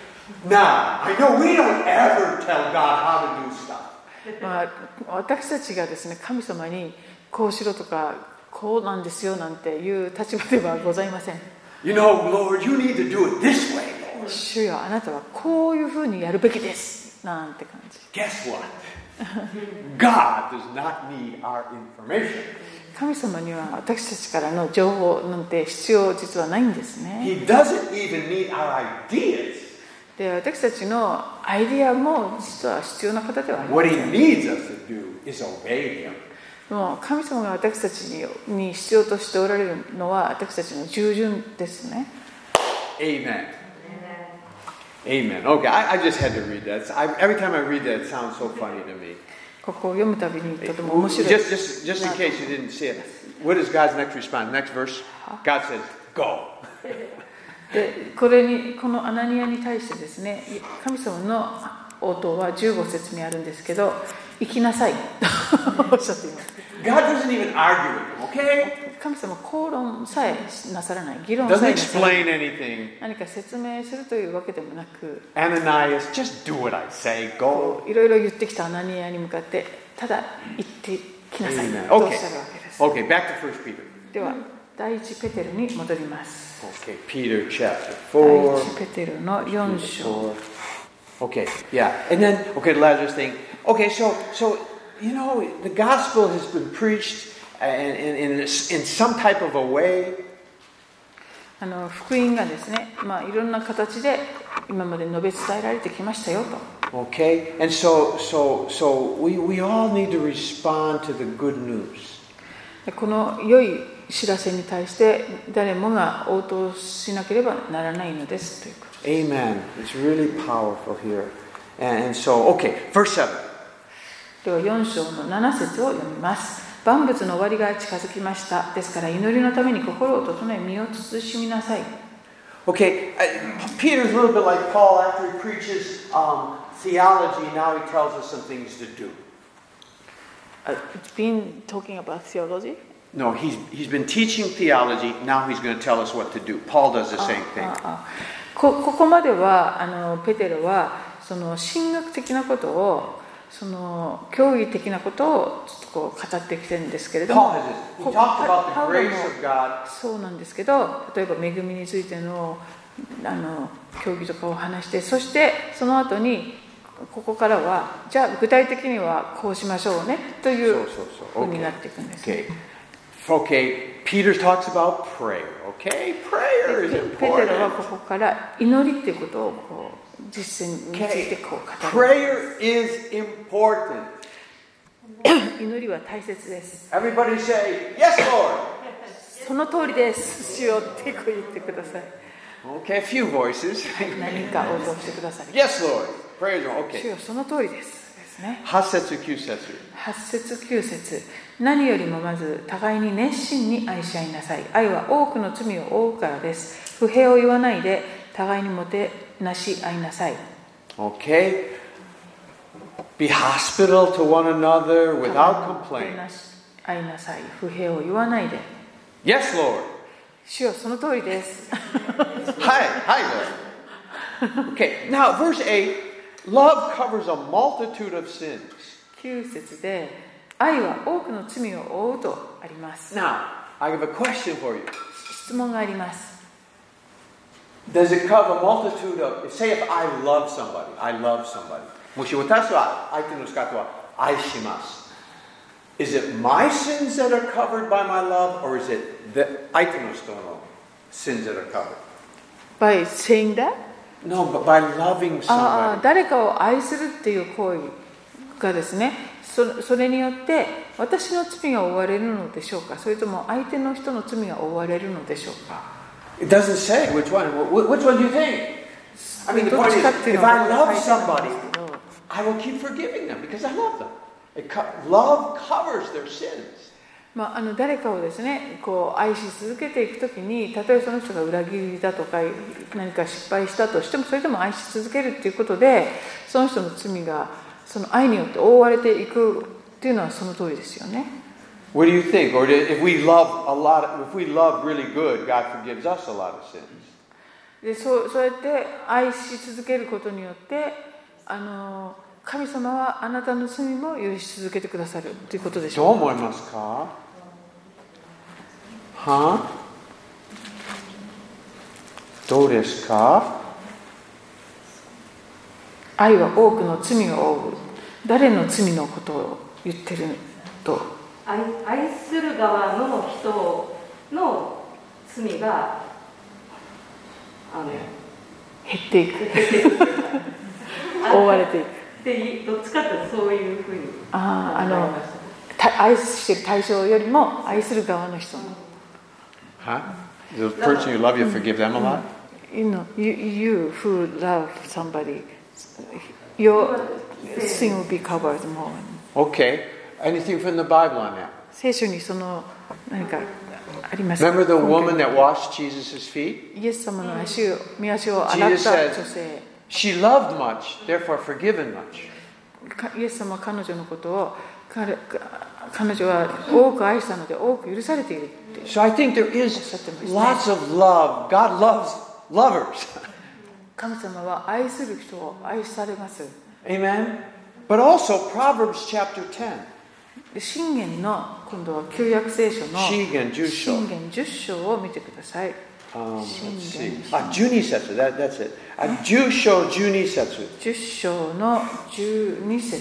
Now, I know we don't ever tell God how to do stuff. まあ、私たちがですね、神様にこうしろとかこうなんですよなんていう立場ではございません。 You know, Lord, you need to do it this way, Lord. 主よ、あなたはこういうふうにやるべきですなんて感じ。 Guess what? God does not need our information. 神様には私たちからの情報なんて必要実はないんですね。 He doesn't even need our ideas. で、私たちのアイディアも実は必要な方ではありま What せ he ん。 needs us to do is obey him. もう神様が私たちにに必要としておられるのは私たちの従順ですね。 Amen. Amen. Okay, I, I just had to read that. I, every time I read that, it sounds so funny to me. ここを読むたびにとても面白い。 Just, just, just in case you didn't see it, what is God's next response? Next verse? God says, go. で、これにこのアナニアに対してですね、神様の応答はじゅうご節にあるんですけど、行きなさいとおっしゃっています。 God doesn't even argue with him, okay? 神様は口論さえなさらない、議論さ Doesn't えなさらない。 explain anything. 何か説明するというわけでもなく、 Ananias, just do what I say. Go. いろいろ言ってきたアナニアに向かってただ行ってきなさい Amen. とおっしゃるわけです。 Okay, back to First Peter. では第一ペテルに戻ります。 Okay, Peter chapter 第 four. 一ペテルのよん章。 Okay, yeah. And then, okay, the Lazarus thing. Okay, so, so you know, the gospel has been preached in, in, in, in some type of a way. あの福音がですね、まあ、いろんな形で今まで述べ伝えられてきましたよと。 Okay, and so, so, so we, we all need to respond to the good news. この良い知らせに対して誰もが応答しなければならないのですということ。 Amen. It's really powerful here. And, and so, okay, verse seven. ではよん章のなな節を読みます。万物の終わりが近づきました。ですから祈りのために心を整え身を慎みなさい。 Okay, uh, Peter's a little bit like Paul after he preaches um, theology. Now he tells us some things to do. it's been talking about theology? No, he's, he's been teaching theology. Now he's going to tell us what to do. Paul does the same thing. ああこ, ここまではあのペテロはその神学的なことをその教義的なことをちょっとこう語ってきてるんですけれども、 Paul has this. He talked about the grace of God. そうなんですけど、例えば恵みについてのあの教義とかを話して、そしてその後にここからはじゃあ具体的にはこうしましょうねというふうになっていくんです、ね。 Okay, Peter talks about prayer. Okay, prayer is important. ペテロはここから祈りっていうことをこう実践についてこう語る。 Prayer is important. 祈りは大切です。 Everybody say, Yes, Lord. その通りです。主よってこう言ってください。 Okay, a few voices. 何か応答してください。 Yes, Lord. Prayer is okay. 主よその通りです。ですね。 はち節きゅう節。 はち節きゅう節。何よりもまず互いに熱心に愛し合いなさい。愛は多くの罪を負うからです。不平を言わないで互いにもてなし合いなさい。 Okay. Be hospitable to one another without complaint. 愛なさい。不平を言わないで。 Yes, Lord. 主よその通りです。 はい、はい、Lord. Okay, now verse eight. Love covers a multitude of sins. きゅう節で愛は多くの罪を負うとあります。 Now, I have a question for you. 質問があります。 Does it cover a multitude of, say if I love somebody, I love somebody. もし私は相手の方は愛します。Is it my sins that are covered by my love, or is it the 相手の人の sins that are covered? By saying that? No, but by loving ああ、 somebody. 誰かを愛するっていう行為がですね、そ, それによって私の罪が負われるのでしょうか、それとも相手の人の罪が負われるのでしょうか。 It doesn't say which one. Which one do you think? I mean, the どっ point ち is, かっていう if の I は love 書いてあるん somebody, ですけど、 I will keep forgiving them because I love them. It co- love covers their sins. まあ、あの誰かをですねこう愛し続けていくときに、たとえその人が裏切りだとか何か失敗したとしても、それでも愛し続けるっていうことで、その人の罪がその愛によって覆われていくっていうのはその通りですよね。 What do you think? Or if we love a lot, of, if we love really good, God forgives us a lot of sins. で そ, そうやって愛し続けることによってあの神様はあなたの罪も許し続けてくださるということでしょう。 どう思いますか？は？どうですか？ 愛は多くの罪を負う。誰の罪のことを言ってると？ 愛, 愛する側の人の罪があの減っていく覆われていくで、どっちかというとそういうふうにああ、あの愛している対象よりも愛する側の人の。 Huh? The person you love, you forgive them a lot? You know, you, you who love somebody, your sin will be covered more. Okay. Anything from the Bible on that? 聖書にその何かありますか？ Remember the woman that washed Jesus' feet? イエス様の足を、御足を洗った女性。 She loved much, therefore forgiven much. イエス様は彼女のことを彼、彼女は多く愛したので多く許されているって。 So I think there is lots of love. God loves lovers. 神様は愛する人を愛されます。 Amen. But also Proverbs chapter ten. 箴言の今度は旧約聖書の箴言じゅっ章。 箴言じゅっ章を見てください。 Um, let's see. Ah, じゅうに節. That, that's it. Ah, じゅっ章じゅうに節. じゅっ章のじゅうに節。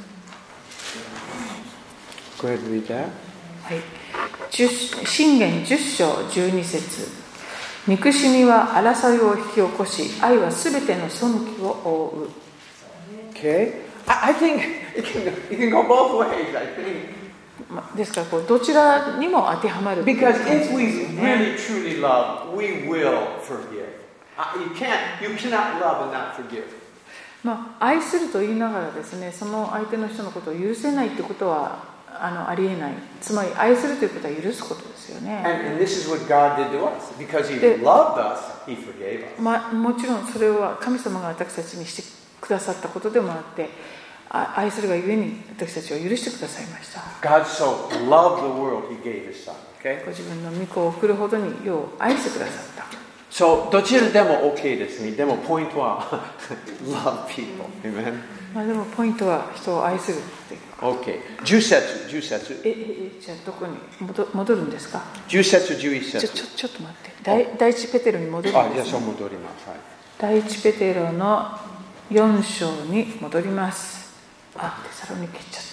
Go ahead and read that. はい。箴言じゅっ章じゅうに節。憎しみは争いを引き起こし、愛はすべての背きを覆う。 Okay. I, I think it can, it can go both ways, I think. ですからこうどちらにも当てはまる。 Because if we really truly love, we will forgive. Uh, you can't, you cannot love and not forgive. まあ、愛すると言いながらですね、その相手の人のことを許せないってことはあのありえない。つまり愛するということは許すことですよね。 And, and this is what God did to us. Because He loved us, He forgave us. まあ、もちろんそれは神様が私たちにしてくださったことでもあって、 愛するがゆえに私たちを許してくださいました。 God so loved the world, He gave His Son. Okay? ご自分の御子を送るほどに世を愛してくださった。 So, どちらでも OK ですね。でもポイントはlove people. Amen. まあでもポイントは人を愛するっていう。 OK。じゅっ節、じゅっ節。 え、え、え、じゃあどこに戻、戻るんですか？ じゅっ節、じゅういち節。 ちょ、ちょ、ちょっと待って。第、第一ペテロに戻るんです、ね。 あ、じゃあそう戻ります。はい。 第一ペテロのよん章に戻ります。あ、テサロニケ行っちゃった。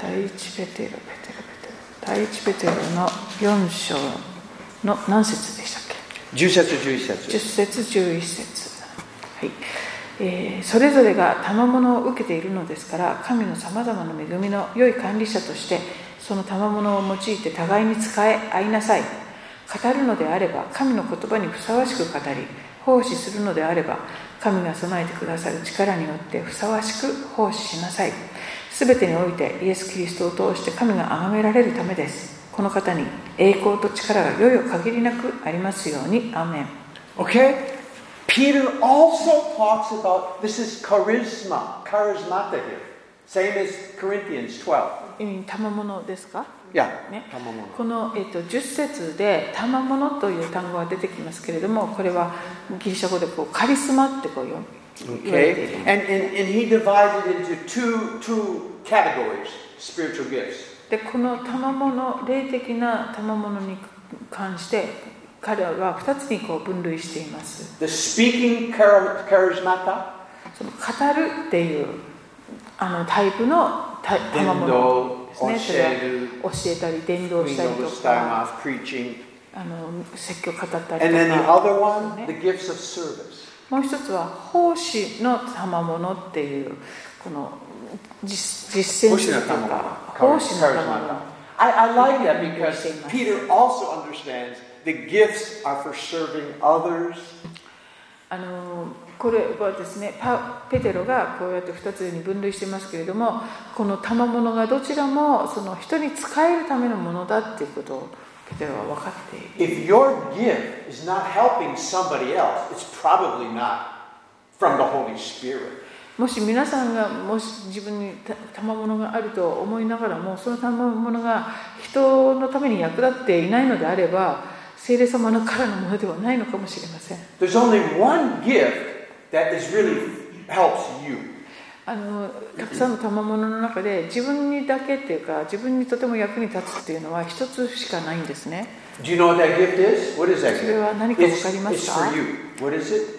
第一ペテロ、ペテロ、ペテロ。第一ペテロのよん章の何節でしたっけ？ じゅっ節、じゅういち節。 じゅっ節、じゅういち節。はい。えー、それぞれが賜物を受けているのですから、神のさまざまな恵みの良い管理者としてその賜物を用いて互いに使え合いなさい。語るのであれば神の言葉にふさわしく語り、奉仕するのであれば神が備えてくださる力によってふさわしく奉仕しなさい。すべてにおいてイエス・キリストを通して神が崇められるためです。この方に栄光と力がよよ限りなくありますように。アーメン。 Okay? Peter also talks about, this is charisma, charismata here. Same as Corinthians twelve. 賜物ですか？ いや、 ね、 賜物。 この、えー、とじゅっ節で賜物という単語が出てきますけれども、これはギリシャ語でこうカリスマってこう言われている。 Okay? And, and, and he divided into two, two categories, spiritual gifts. でこの賜物、霊的な賜物に関して彼はふたつにこう分類しています。 The speaking charismata. その語るっていうあのタイプの賜物ですね。それは教えたり伝道したりとか、あの説教語ったりとか。 And then the other one, the gifts of service. もう一つは奉仕の賜物っていうこの実践するというか、奉仕の賜物。 I, I like that because Peter also understands the gifts are for serving others. あのこれはですね、パペテロがこうやってふたつに分類してますけれども、この賜物がどちらもその人に使えるためのものだっていうことをペテロは分かっている。 If your gift is not helping somebody else, it's probably not from the Holy Spirit. もし皆さんがもし自分に賜物があると思いながらも、その賜物が人のために役立っていないのであれば、聖霊様のからのものではないのかもしれません。 There's only one gift that is really helps you. あのたくさんの賜物の中で自分にだけっていうか、自分にとても役に立つっていうのは一つしかないんですね。 Do you know what that gift is? What is that gift? それは何か分かりますか？ It's, it's for you. What is it?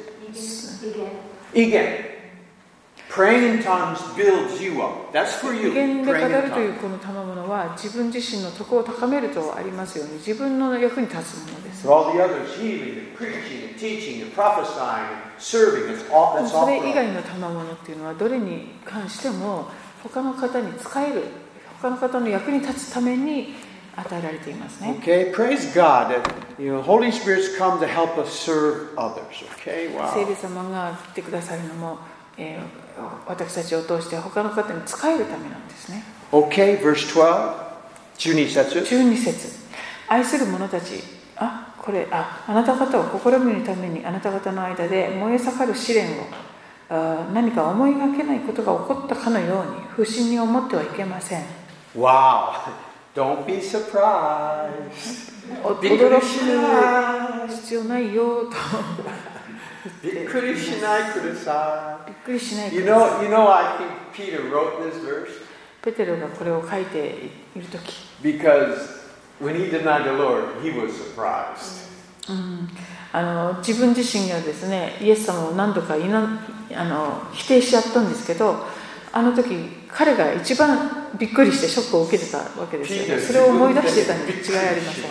Igen. Praying in tongues builds you up. That's for you. 語源で語 Praying る in という tongues. この賜物は自分自身の徳を高めるとありますように、自分の役に立つものです。 For all the others, healing and preaching and teaching and prophesying and serving, it's all, that's そ all れ for 以 us. 外の賜物っていうのはどれに関しても他の方に使える、他の方の役に立つために与えられていますね。 Okay, praise God that you know Holy Spirit's come to help us serve others. Okay, 聖 wow. 霊様が来てくださるのも、えー私たちを通して他の方に使えるためなんですね。 Okay, verse twelve, じゅうに節. じゅうに節、愛する者たち、あ、これ、あ、あなた方を試みるためにあなた方の間で燃え盛る試練を、あ、何か思いがけないことが起こったかのように不審に思ってはいけません。 Wow. Don't be surprised. 驚く必要ないよとびっくりしないください。 びっくりしないく You ださ know, い。 you know, I think Peter wrote this verse ペテロがこれを書いているとき、 because when he denied the Lord, he was surprised. うん、あの自分自身がですね、イエス様を何度かいなあの否定しちゃったんですけど、あの時彼が一番びっくりしてショックを受けてたわけですよね。それを思い出してたに違いありません。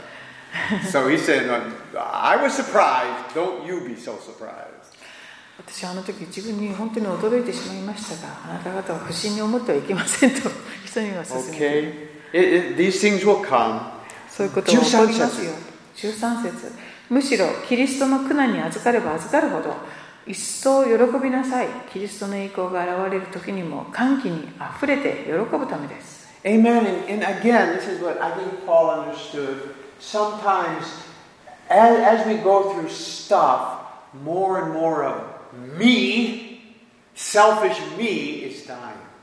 So he said, I was surprised. Don't you be so surprised. 私はあの時自分に本当に驚いてしまいましたが、あなた方は不審に思ってはいけませんと人には勧めて、 Okay. It, it, these things will come. そういうことが起こりますよ。じゅうさん節、むしろキリストの苦難に預かれば預かるほど一層喜びなさい。キリストの栄光が現れる時にも歓喜にあふれて喜ぶためです。 Amen. And, and again, this is what I think Paul understood. Sometimes, as, as we go through stuff, more and more of me, selfish me, is dying.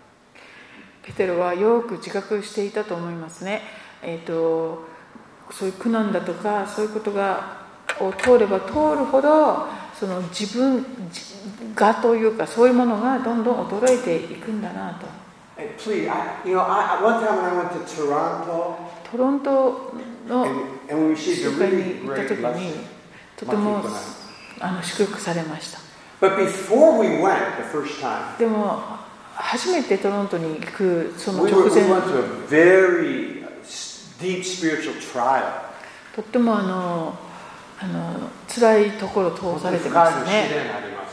ペテロはよく自覚していたと思いますね。えーと、そういう苦難だとかそういうことがを通れば通るほどその自分がというかそういうものがどんどん衰えていくんだなと。 Please, I, you know, I, one time when I went to Toronto, トロントの and, and we received 集 a 会に really 行った great 時に lesson. とてもあの祝福されました。 But before we went the first time, でも初めてトロントに行くその we, 直 were, we 前 went to a very deep spiritual trial. とってもあのあの辛いところを通されてましたね。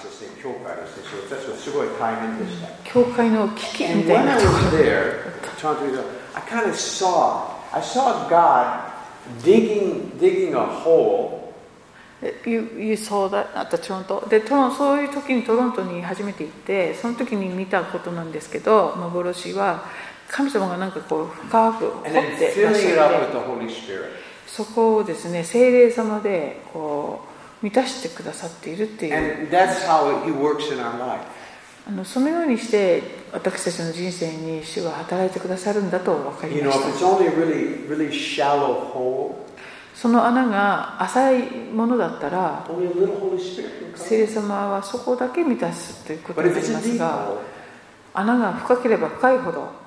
教会の危機みたいなところ。 I kind of saw, I saw God digging, digging a hole. You, you saw that at the Toronto. で、トロンそういう時にトロントに初めて行って、その時に見たことなんですけど、幻は神様がなんかこう深く掘ってらっしゃって、そこをですね、聖霊様でこう満たしてくださっているっていう。 And that's how He works in our life. あのそのようにして私たちの人生に主が働いてくださるんだと分かりました。その穴が浅いものだったら、聖霊様はそこだけ満たすということになりますが、穴が深ければ深いほど、も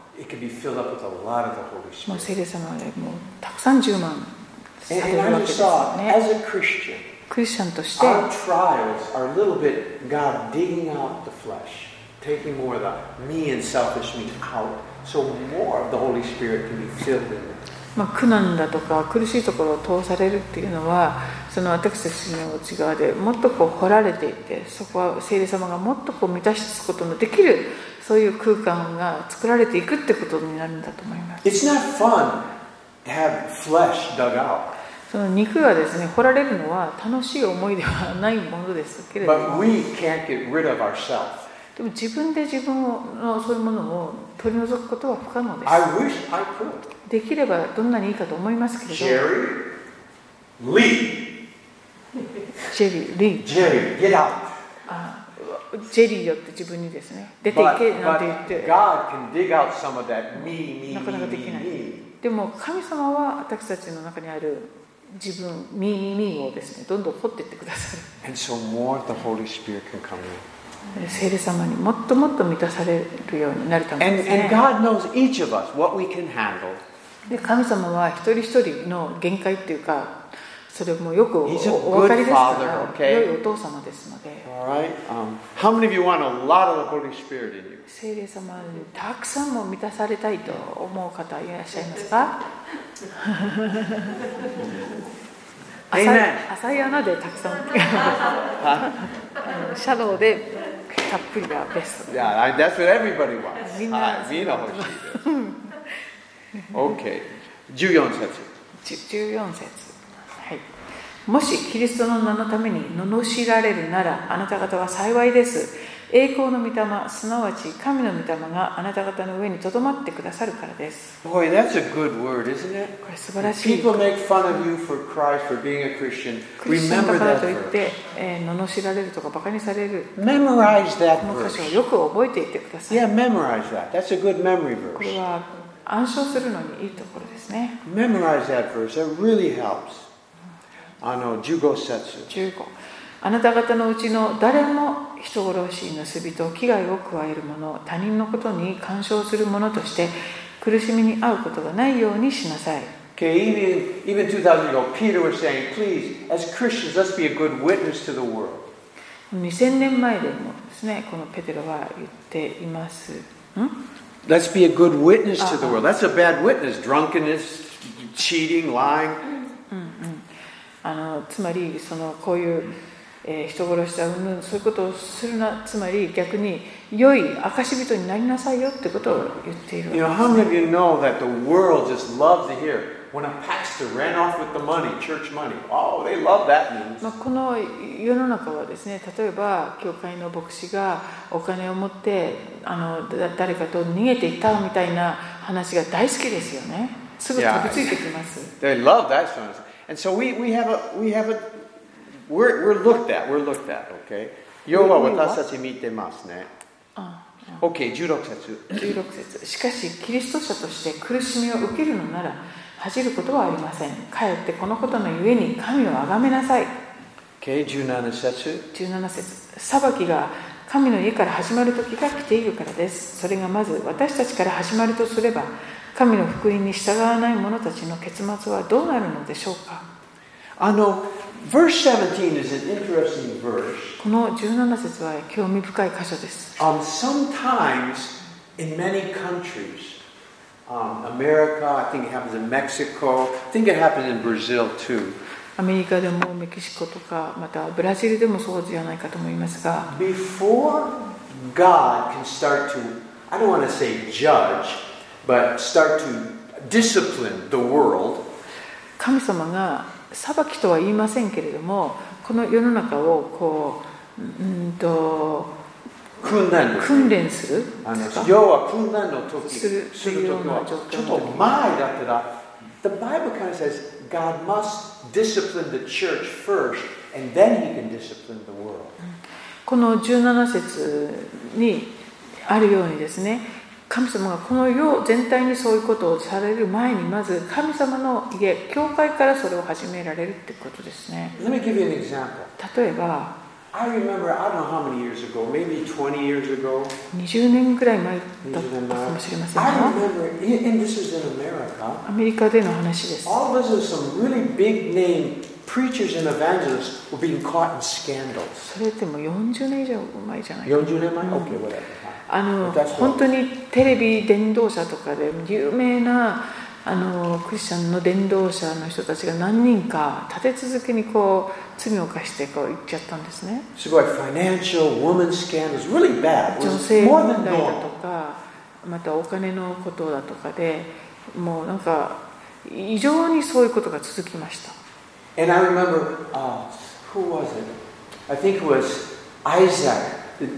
う聖霊様でもうたくさん充満されるわけですよね。クリスチャンとして、 taking more of the me and selfish me out, so more of the Holy Spirit can be filled in. まあ苦難だとか苦しいところを通されるっていうのは、その私たちの内側でもっとこう掘られていて、そこは聖霊様がもっとこう満たすことのできるそういう空間が作られていくってことになるんだと思います。 It's not fun to have flesh dug out. その肉がですね掘られるのは楽しい思いではないものですけれども。 But we can't get rid of ourselves. でも自分で自分のそういうものを取り除くことは不可能です。 I wish I could. できればどんなにいいかと思いますけれど。 Jerry, leave. ジェリー、リー。 Jerry, get out. あ、ジェリーよって自分にですね、出ていけなんて言って。 God can dig out some of that me, me, なかなかできない。 me, me. でも神様は私たちの中にある自分、ミーミーをですね、どんどん掘っていってくださる。 And so more of the Holy Spirit can come in. 聖霊様にもっともっと満たされるようになるためですね。 And, and God knows each of us what we can handle. で神様は一人一人の限界っていうか、それもよく お, お分かりですから、okay? 良いお父様ですので。 Alright. Um, how many of you want a lot of the Holy Spirit in you? 聖霊様にたくさんも満たされたいと思う方いらっしゃいますか？浅い、浅い穴でたくさんシャローでたっぷりがベスト。 Yeah, that's what everybody wants. みんなみんな欲しいです。OK。じゅうよん節。 じゅうよん節。はい。もしキリストの名のために罵られるなら、あなた方は幸いです。栄光の御霊、すなわち神の御霊があなた方の上にとどまってくださるからです。 Boy, that's a good word, isn't it? これ素晴らしい。 People make fun of you for Christ, for being a Christian. クリスチャンだ Remember から that といって、 verse. えー、罵られるとかバカにされる。 Memorize that この箇所を verse. よく覚えていってください。 Yeah, memorize that. That's a good memory これ verse. は暗唱するのにいいところですね。 Memorize that verse. That really helps. あのじゅうご節。 じゅうご。あなた方のうちの誰も人殺し、盗人、危害を加える者、他人のことに干渉する者として苦しみに遭うことがないようにしなさい。 Okay, even, even two thousand ago, Peter was saying, please, as Christians, let's be a good witness to the world. にせんねんまえでもですね、このペテロは言っています。ん Let's be a good witness to the world. That's a bad witness. Drunkenness, cheating, lying. うんうん、あのつまりそのこういうえー、人殺しだうんぬんそういうことをするな、つまり逆に良い証人になりなさいよってことを言っているわけです、ね。 You know, how many of you know that the world just loves to hear when a pastor ran off with the money, church money? Oh, they love that news. まあこの世の中はですね、例えば教会の牧師がお金を持ってあの誰かと逃げていったみたいな話が大好きですよね。すぐ飛びついてきます。 Yeah, they love that song. And so we, we have a, we have a, we're, we're looked at, we're looked at, okay? 要は私たち見てますね。 OK、じゅうろく節。 じゅうろく節。しかしキリスト者として苦しみを受けるのなら恥じることはありません。かえってこのことのゆえに神をあがめなさい。 OK、じゅうなな節。 じゅうなな節。裁きが神の家から始まる時が来ているからです。それがまず私たちから始まるとすれば、神の福音に従わない者たちの結末はどうなるのでしょうか。 あの、verse seventeen is an interesting verse. このじゅうなな節は興味深い箇所です。 Um, sometimes in many countries, um, America, I think it happens in Mexico, I think it happens in Brazil too. アメリカでもメキシコとかまたブラジルでもそうじゃないかと思いますが、 Before God can start to, I don't want to say judge, but start to discipline the world, 神様が裁きとは言いませんけれども、この世の中をこう、うんと訓練訓練するあの要は訓練の時するする時はちょっと前だったら The Bible kind of says God must discipline the church first and then He can discipline the world. このじゅうなな節にあるようにですね、神様がこの世全体にそういうことをされる前にまず神様の家、教会からそれを始められるってことですね。 Let me give you an example. 例えば I remember, I don't know how many years ago, maybe twenty years ago. にじゅうねんぐらい前だったかもしれません I が、 remember, and this was in America, アメリカでの話です。 all of us with some really big name preachers and evangelists were being caught in scandals. それってもうよんじゅうねん以上前じゃないか。 よんじゅうねんまえ ?Okay, whatever. あの That's 本当にテレビ伝道者とかで有名なあのクリスチャンの伝道者の人たちが何人か立て続けにこう罪を犯してこう言っちゃったんですね。 すごい financial, woman scandals, really bad. It 女 was 性 more 問 than 題だと normal. かまたお金のことだとかでもうなんか異常にそういうことが続きました。 And I remember, uh, who was it? I think it was Isaac,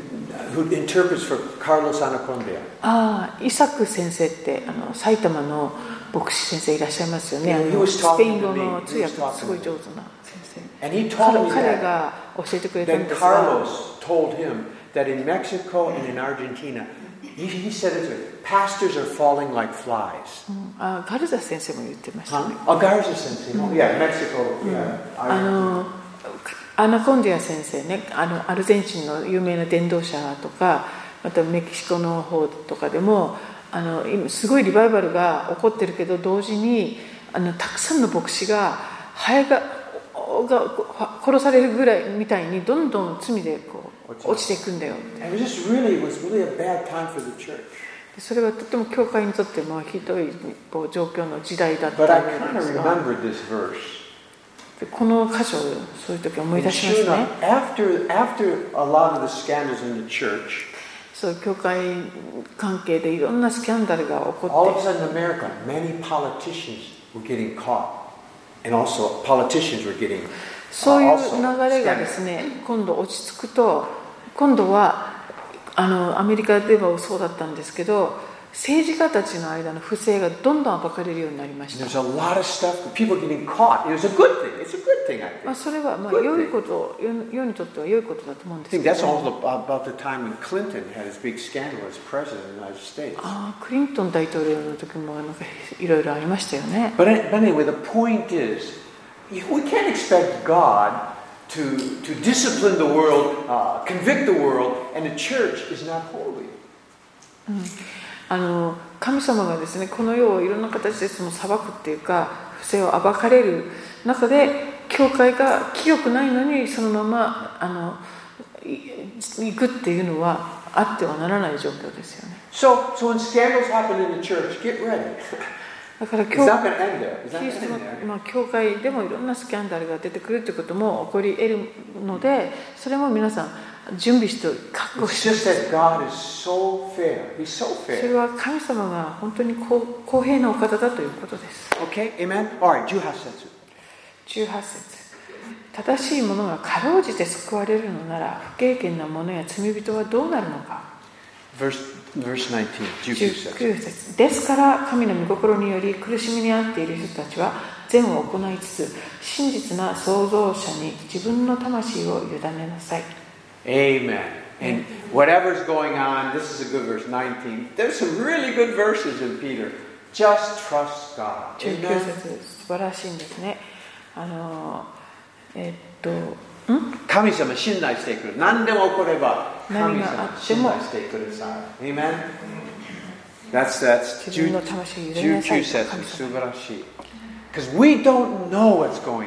who interprets for Carlos Anacondia. ああ、イサク先生ってあの埼玉の牧師先生いらっしゃいますよね。あ He の was ス talking ペイン to 語 me. の通 He 訳 was すごい talking 上 to 手 me. な先生。 And he told me 彼 that, が教えてくれたん that ですが、 Carlos told him that in Mexico and in Argentina, he, he said it, pastors are falling like flies. うんあガルザ先生も言ってましたね。 Huh? Oh, Garza sensei. Oh, yeah, Mexico. Yeah. あのアナコンディア先生ね、あのアルゼンチンの有名な伝道者とかまたメキシコの方とかでもあの今すごいリバイバルが起こってるけど同時にあのたくさんの牧師がハエがが殺されるぐらいみたいにどんどん罪でこう落ちていくんだよ。 And it was just really, it was really a bad time for the church. それはとても教会にとってもひどいこう状況の時代だった But I よう kind で of すが、 remembered this verse. この箇所をそういう時思い And 出しま sure すね。 enough, after, after a lot of the scandals in the church, そう教会関係でいろんなスキャンダルが起 all こ of っ a て、 sudden in America, many politicians were getting caught. And also politicians were getting uh, そういう also 流れがですね、今度落ち着くと、今度はあのアメリカではそうだったんですけど、政治家たちの間の不正がどんどん暴かれるようになりまし There's た。 a lot of stuff, people getting caught. It was a good thing. It's a good thing, I まあ、 think. それはまあ Good thing. 良いこと世、世にとっては良いことだと思うんで I す think け that's ど、 also about the time when Clinton had his big scandal as president of the United States. ああクリントン大統領の時もなんかいろいろありましたよね。 But, but anyway, the point is, we can't expect God to, to discipline the world, uh, convict the world, and the church is not holy. あの神様がですね、この世をいろんな形でその裁くっていうか不正を暴かれる中で教会が清くないのにそのままあの行くっていうのはあってはならない状況ですよね。 So, so when scandals happen in the church, get ready. だから It's 教 not going to end there. It's not キリ going ス to ト end の there. まあ教会でもいろんなスキャンダルが出てくるということも起こり得るので、それも皆さん準備して覚悟 It's して just that God is so fair. He's so それ fair. は神様が本当に公公平なお方だということです。 Okay, amen? All right, じゅうはち節。 じゅうはち節。正しい者がかろうじて救われるのなら不経験な者や罪人はどうなるのか。 Verse, verse nineteen, じゅうきゅう節。 じゅうきゅう節。ですから神の御心により苦しみに遭っている人たちは善を行いつつ真実な創造者に自分の魂を委ねなさい。 Amen. And whatever's going on, this is a good verse, nineteen. There's some really good verses in Peter. Just trust God. じゅうきゅう節素晴らしいんですね。あのえっとん神様信頼してくる。何でも起これば神何があ様っても信頼してください。Amen? That's, that's 自分の魂を入れなさいじゅうきゅう節神素様晴らしい。Because we don't know what's going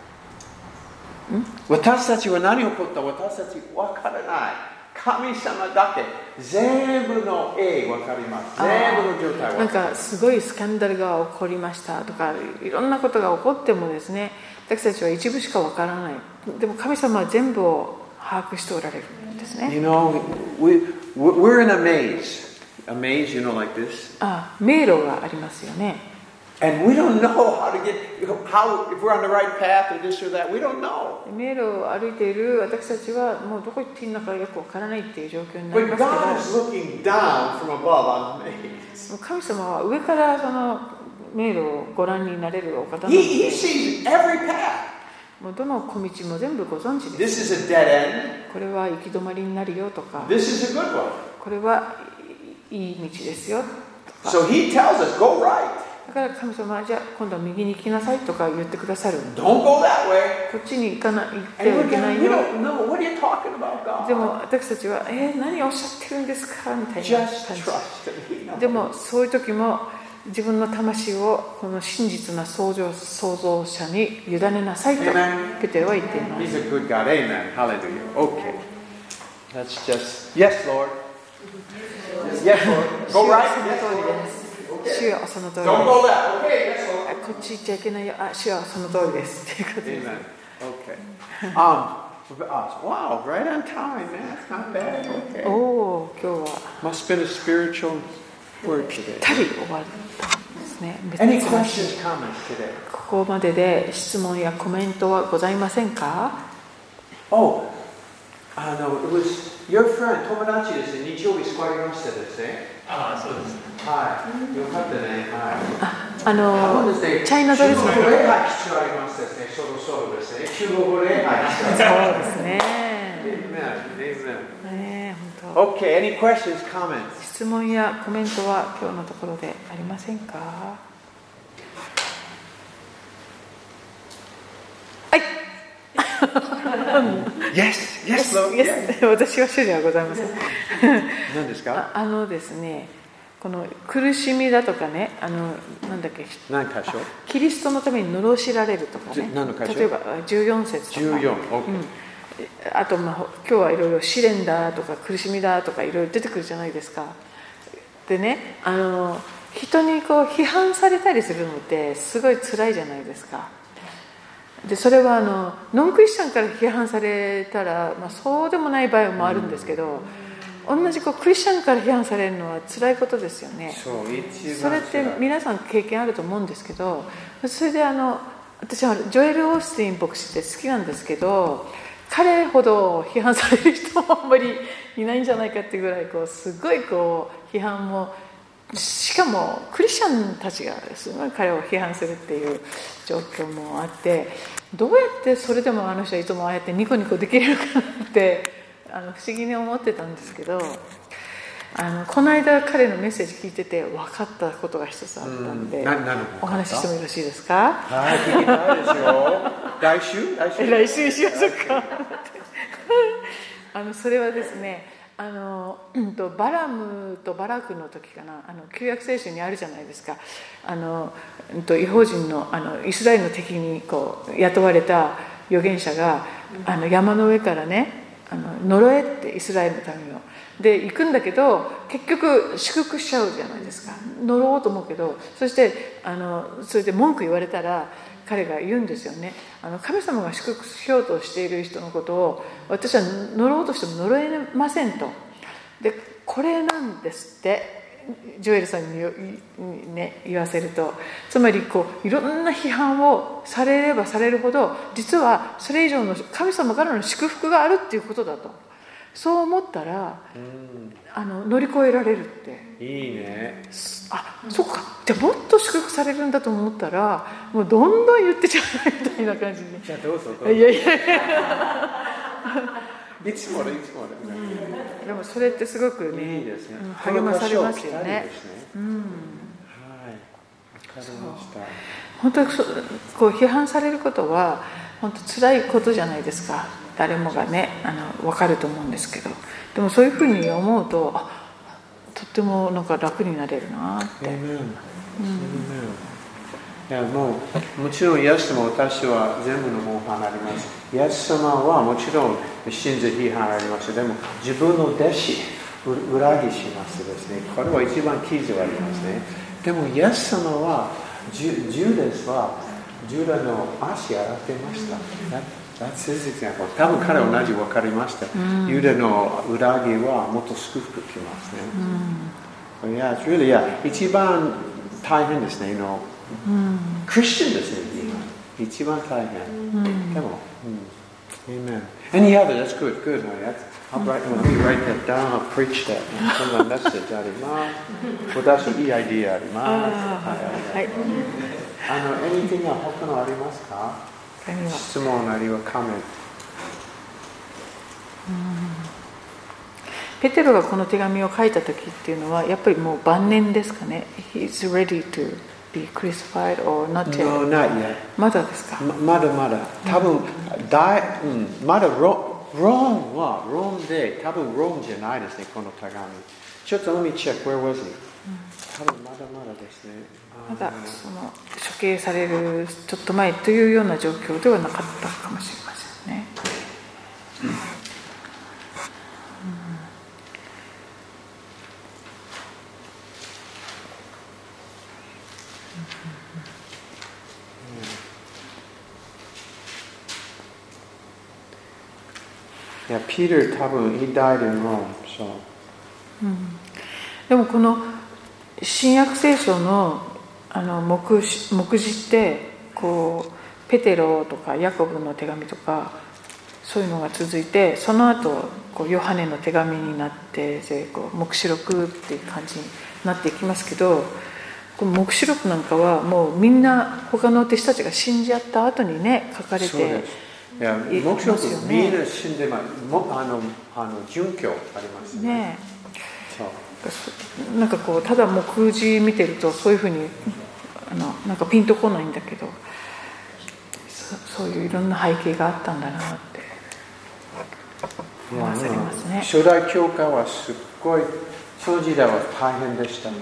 on. 私たちは何が起こった私たちわからない。神様だけ全部の絵わかります。全部の状態わかります。 なんかすごいスキャンダルが起こりましたとかいろんなことが起こってもですね、私たちは一部しかわからない。でも神様は全部を把握しておられるんですね。 You know, we, we're in a maze. A maze, you know, like this. あ、迷路がありますよね。 And we don't know how to get, how, if we're on the right path or this or that, we don't know. 迷路を歩いている私たちはもうどこ行っていいのかよくわからないっていう状況になり But ます God is looking down from above on the maze. けど、神様は上からその迷路をご覧になれるお方なの He, で、 he sees every path. もうどの小道も全部ご存知です。 This is a dead end. これは行き止まりになるよとか、 This is a good one. これはいい道ですよとか。 So he tells us, go right. だから神様はじゃあ今度は右に行きなさいとか言ってくださる。 Don't go that way. こっちに行かな行っては And い we, けない we よ。 don't know. What are you talking about, God? でも私たちはえー、何をおっしゃってるんですかみたいな Just 感じ。 trust him. He knows. でもそういう時も自分の魂をこの真実な創造創造者に委ねなさいと Amen. ペテロは言っています。 He's a good God. Amen. Hallelujah. Okay. That's just. Yes, Lord. Yes, Lord. 主 Go は right. その Yes, 通り Lord. です。主はその通り Don't で go left. Okay. Yes, す。 Lord. あこっち行っちゃいけないよ。あ、主はその通りですっていうことです。 Amen. Okay. Um. Wow. Right on time, man. That's not bad. Okay. おお、今日は Must have been a spiritual word today. たり終わったんですね。別 Any に questions, comments today? ここまでで質問やコメントはございませんか？ Oh, uh, no, it was your friend, 友達ですね。日曜日救われましたですね。 ああ、そうです。 はい。よかったね。はい。 あ、あ多の分ですね、 チャイナドレスの中国礼拝必要ありますですね。そろそろですね。中国礼拝必要あります。 そうですね。 Amen. Amen. ねえ、本当。 Okay, any questions, comments? 質問やコメントは今日のところでありませんか？はい。 Yes, yes, Lord. Yes 私は主ではございません。 何ですか？ ああのですね、この苦しみだとかね、あのなんだっけ、 何箇所？ キリストのために罵られるとかね。 何の箇所？ 例えばじゅうよん節とか。 じゅうよん。Okay. うんあと、まあ、今日はいろいろ試練だとか苦しみだとかいろいろ出てくるじゃないですか。でね、あの人にこう批判されたりするのってすごい辛いじゃないですか。でそれはあのノンクリスチャンから批判されたら、まあ、そうでもない場合もあるんですけど、同じこうクリスチャンから批判されるのは辛いことですよね。 そう、一番それって皆さん経験あると思うんですけど、それであの私はジョエル・オースティン牧師って好きなんですけど、彼ほど批判される人もあんまりいないんじゃないかっていうぐらいこうすごいこう批判も、しかもクリスチャンたちがすごい彼を批判するっていう状況もあって、どうやってそれでもあの人はいつもああやってニコニコできるのかなってあの不思議に思ってたんですけど、あのこの間彼のメッセージ聞いてて分かったことが一つあったんで、お話ししてもよろしいですか？ はい、聞きたいですよ。来週？来週？ 来週にしましょうか。あのそれはですね、あの、うん、とバラムとバラクの時かな、あの旧約聖書にあるじゃないですか。あの、うん、と異邦人のあのイスラエルの敵にこう雇われた預言者があの山の上からね、あの呪えってイスラエルのためので行くんだけど、結局祝福しちゃうじゃないですか。呪おうと思うけど、そしてあのそれで文句言われたら彼が言うんですよね。あの神様が祝福しようとしている人のことを私は呪おうとしても呪えませんと。でこれなんですってジョエルさんに、ね、言わせると、つまりこういろんな批判をされればされるほど、実はそれ以上の神様からの祝福があるっていうことだと。そう思ったら、うん、あの乗り越えられるって。 いいね。 あ、そっか。じゃあもっと祝福されるんだと思ったら、もうどんどん言ってちゃうみたいな感じに。 じゃあどうぞどうぞ。 いやいやいや。 いつもでいつもで。 でもそれってすごくね、 いいですね。 うん、励まされますよね。うん、 はい。わかりました。 本当にこう批判されることは本当辛いことじゃないですか。誰もがね、あの分かると思うんですけど、でもそういうふうに思うと、あ、とってもなんか楽になれるなって。うん、 いやもうもちろんイエスも私は全部の模範あります。イエス様はもちろん真実批判あります。でも自分の弟子裏切しますですね。これは一番記事はありますね。でもイエス様はジュジュダスはジュダの足洗ってました。That's his example. 多分彼は同じ分かりました。ユダの裏切りはもっと祝福きますね。いや、really, yeah. 一番大変ですね。のクリスチャンですね。一番大変。でも、Amen. Any other? That's good. Good. I'll write, let me write that down. I'll preach that. そんなメッセージあります。私いいアイディアあります。はい。あの、anything が他のありますか？質問あるいはコメント。 ペテロがこの手紙を書いた時っていうのはやっぱりもう晩年ですかね。He's ready to be crucified or not yet? No, not yet. まだですか？ まだまだ。多分、大、うん、まだロロームはロームで多分ロームじゃないですね、この手紙。ちょっと let me check. Where was he? 多分まだまだですね。 まだその処刑されるちょっと前というような状況ではなかったかもしれませんね。うんいや、ピーター多分 he died in Rome, so. うん、でもこの新約聖書のあの 目, 目次ってこうペテロとかヤコブの手紙とかそういうのが続いて、その後こうヨハネの手紙になってでこう黙示録っていう感じになっていきますけど、この黙示録なんかはもうみんな他の弟子たちが死んじゃった後にね書かれていや、黙示録みんな死んでます。あのあの殉教ありますね。 ねなんかこうただ目次見てるとそういうふうにあのなんかピンとこないんだけど、そ, そういういろんな背景があったんだなって思わされますね。 初代教会はすっごいその時代は大変でした。うん、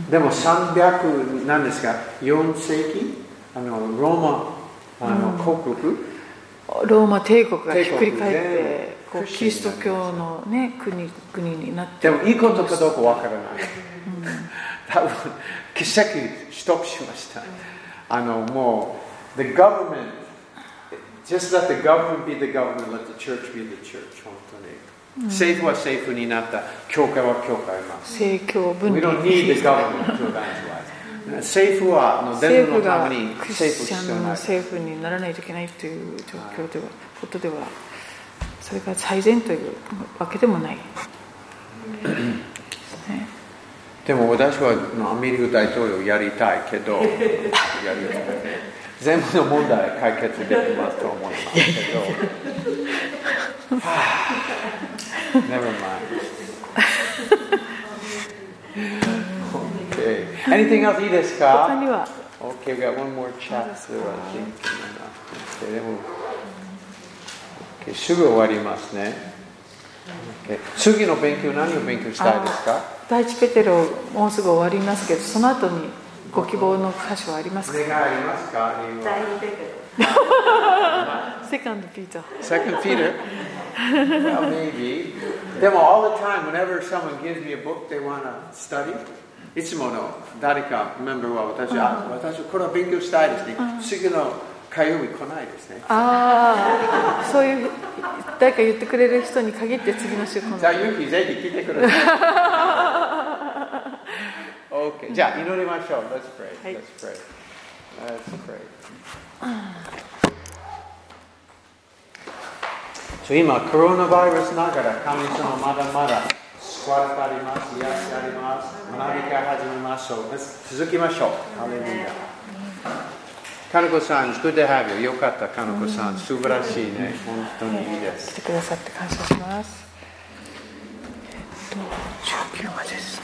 でもさんびゃくなんですか、よん世紀あのローマあの、うん、国国ローマ帝国がひっくり返ってこうキリスト教の、ね、国, 国になって、 でもいいことかどうかわからない、うん、多分奇跡ストップしました。あのもう the government just let the government be the government, let the church be the church. 本当に、うん、政府は政府になった、教会は教会は政教分離。 We don't need the government to evangelize. 政府はの伝道のためにクリスチャンの政府にならないといけないという状況では、ことではそれが最善というわけでもない、ね、 でも私はアメリカ大統領やりたいけどやりたい全部の問題解決できますと思いますけどNever mind。Okay. Anything else いいですか？ 他には Okay, we got one more chapter, I think. Okay, でも、okay, すぐ終わりますね。Okay. 次の勉強、何を勉強したいですか？ 第一ペテロ、もうすぐ終わりますけど、その後にご希望の箇所はありますか？ お願いありますか？ 第二ペテロ。 Second Peter. Second Peter? Well, maybe. でも、all the time, whenever someone gives me a book they want to study, いつもの誰かメンバーは私は、私はこれを勉強したいですね。次の火曜日来ないですね。 ああ、そういう誰か言ってくれる人に限って次の週来ない。 じゃあ、ユキぜひ来てください。Okay. じゃあ、祈りましょう。Let's pray. Let's pray. Let's pray. 今、コロナウイルスながら神様まだまだ救われてあります。癒しあります。学びから始めましょう。続きましょう。ハレルヤ。かのこさん、good to have you. よかった、かのこさん。素晴らしいね。本当にいいです。 来てくださって感謝します。 じゅうきゅうまでです。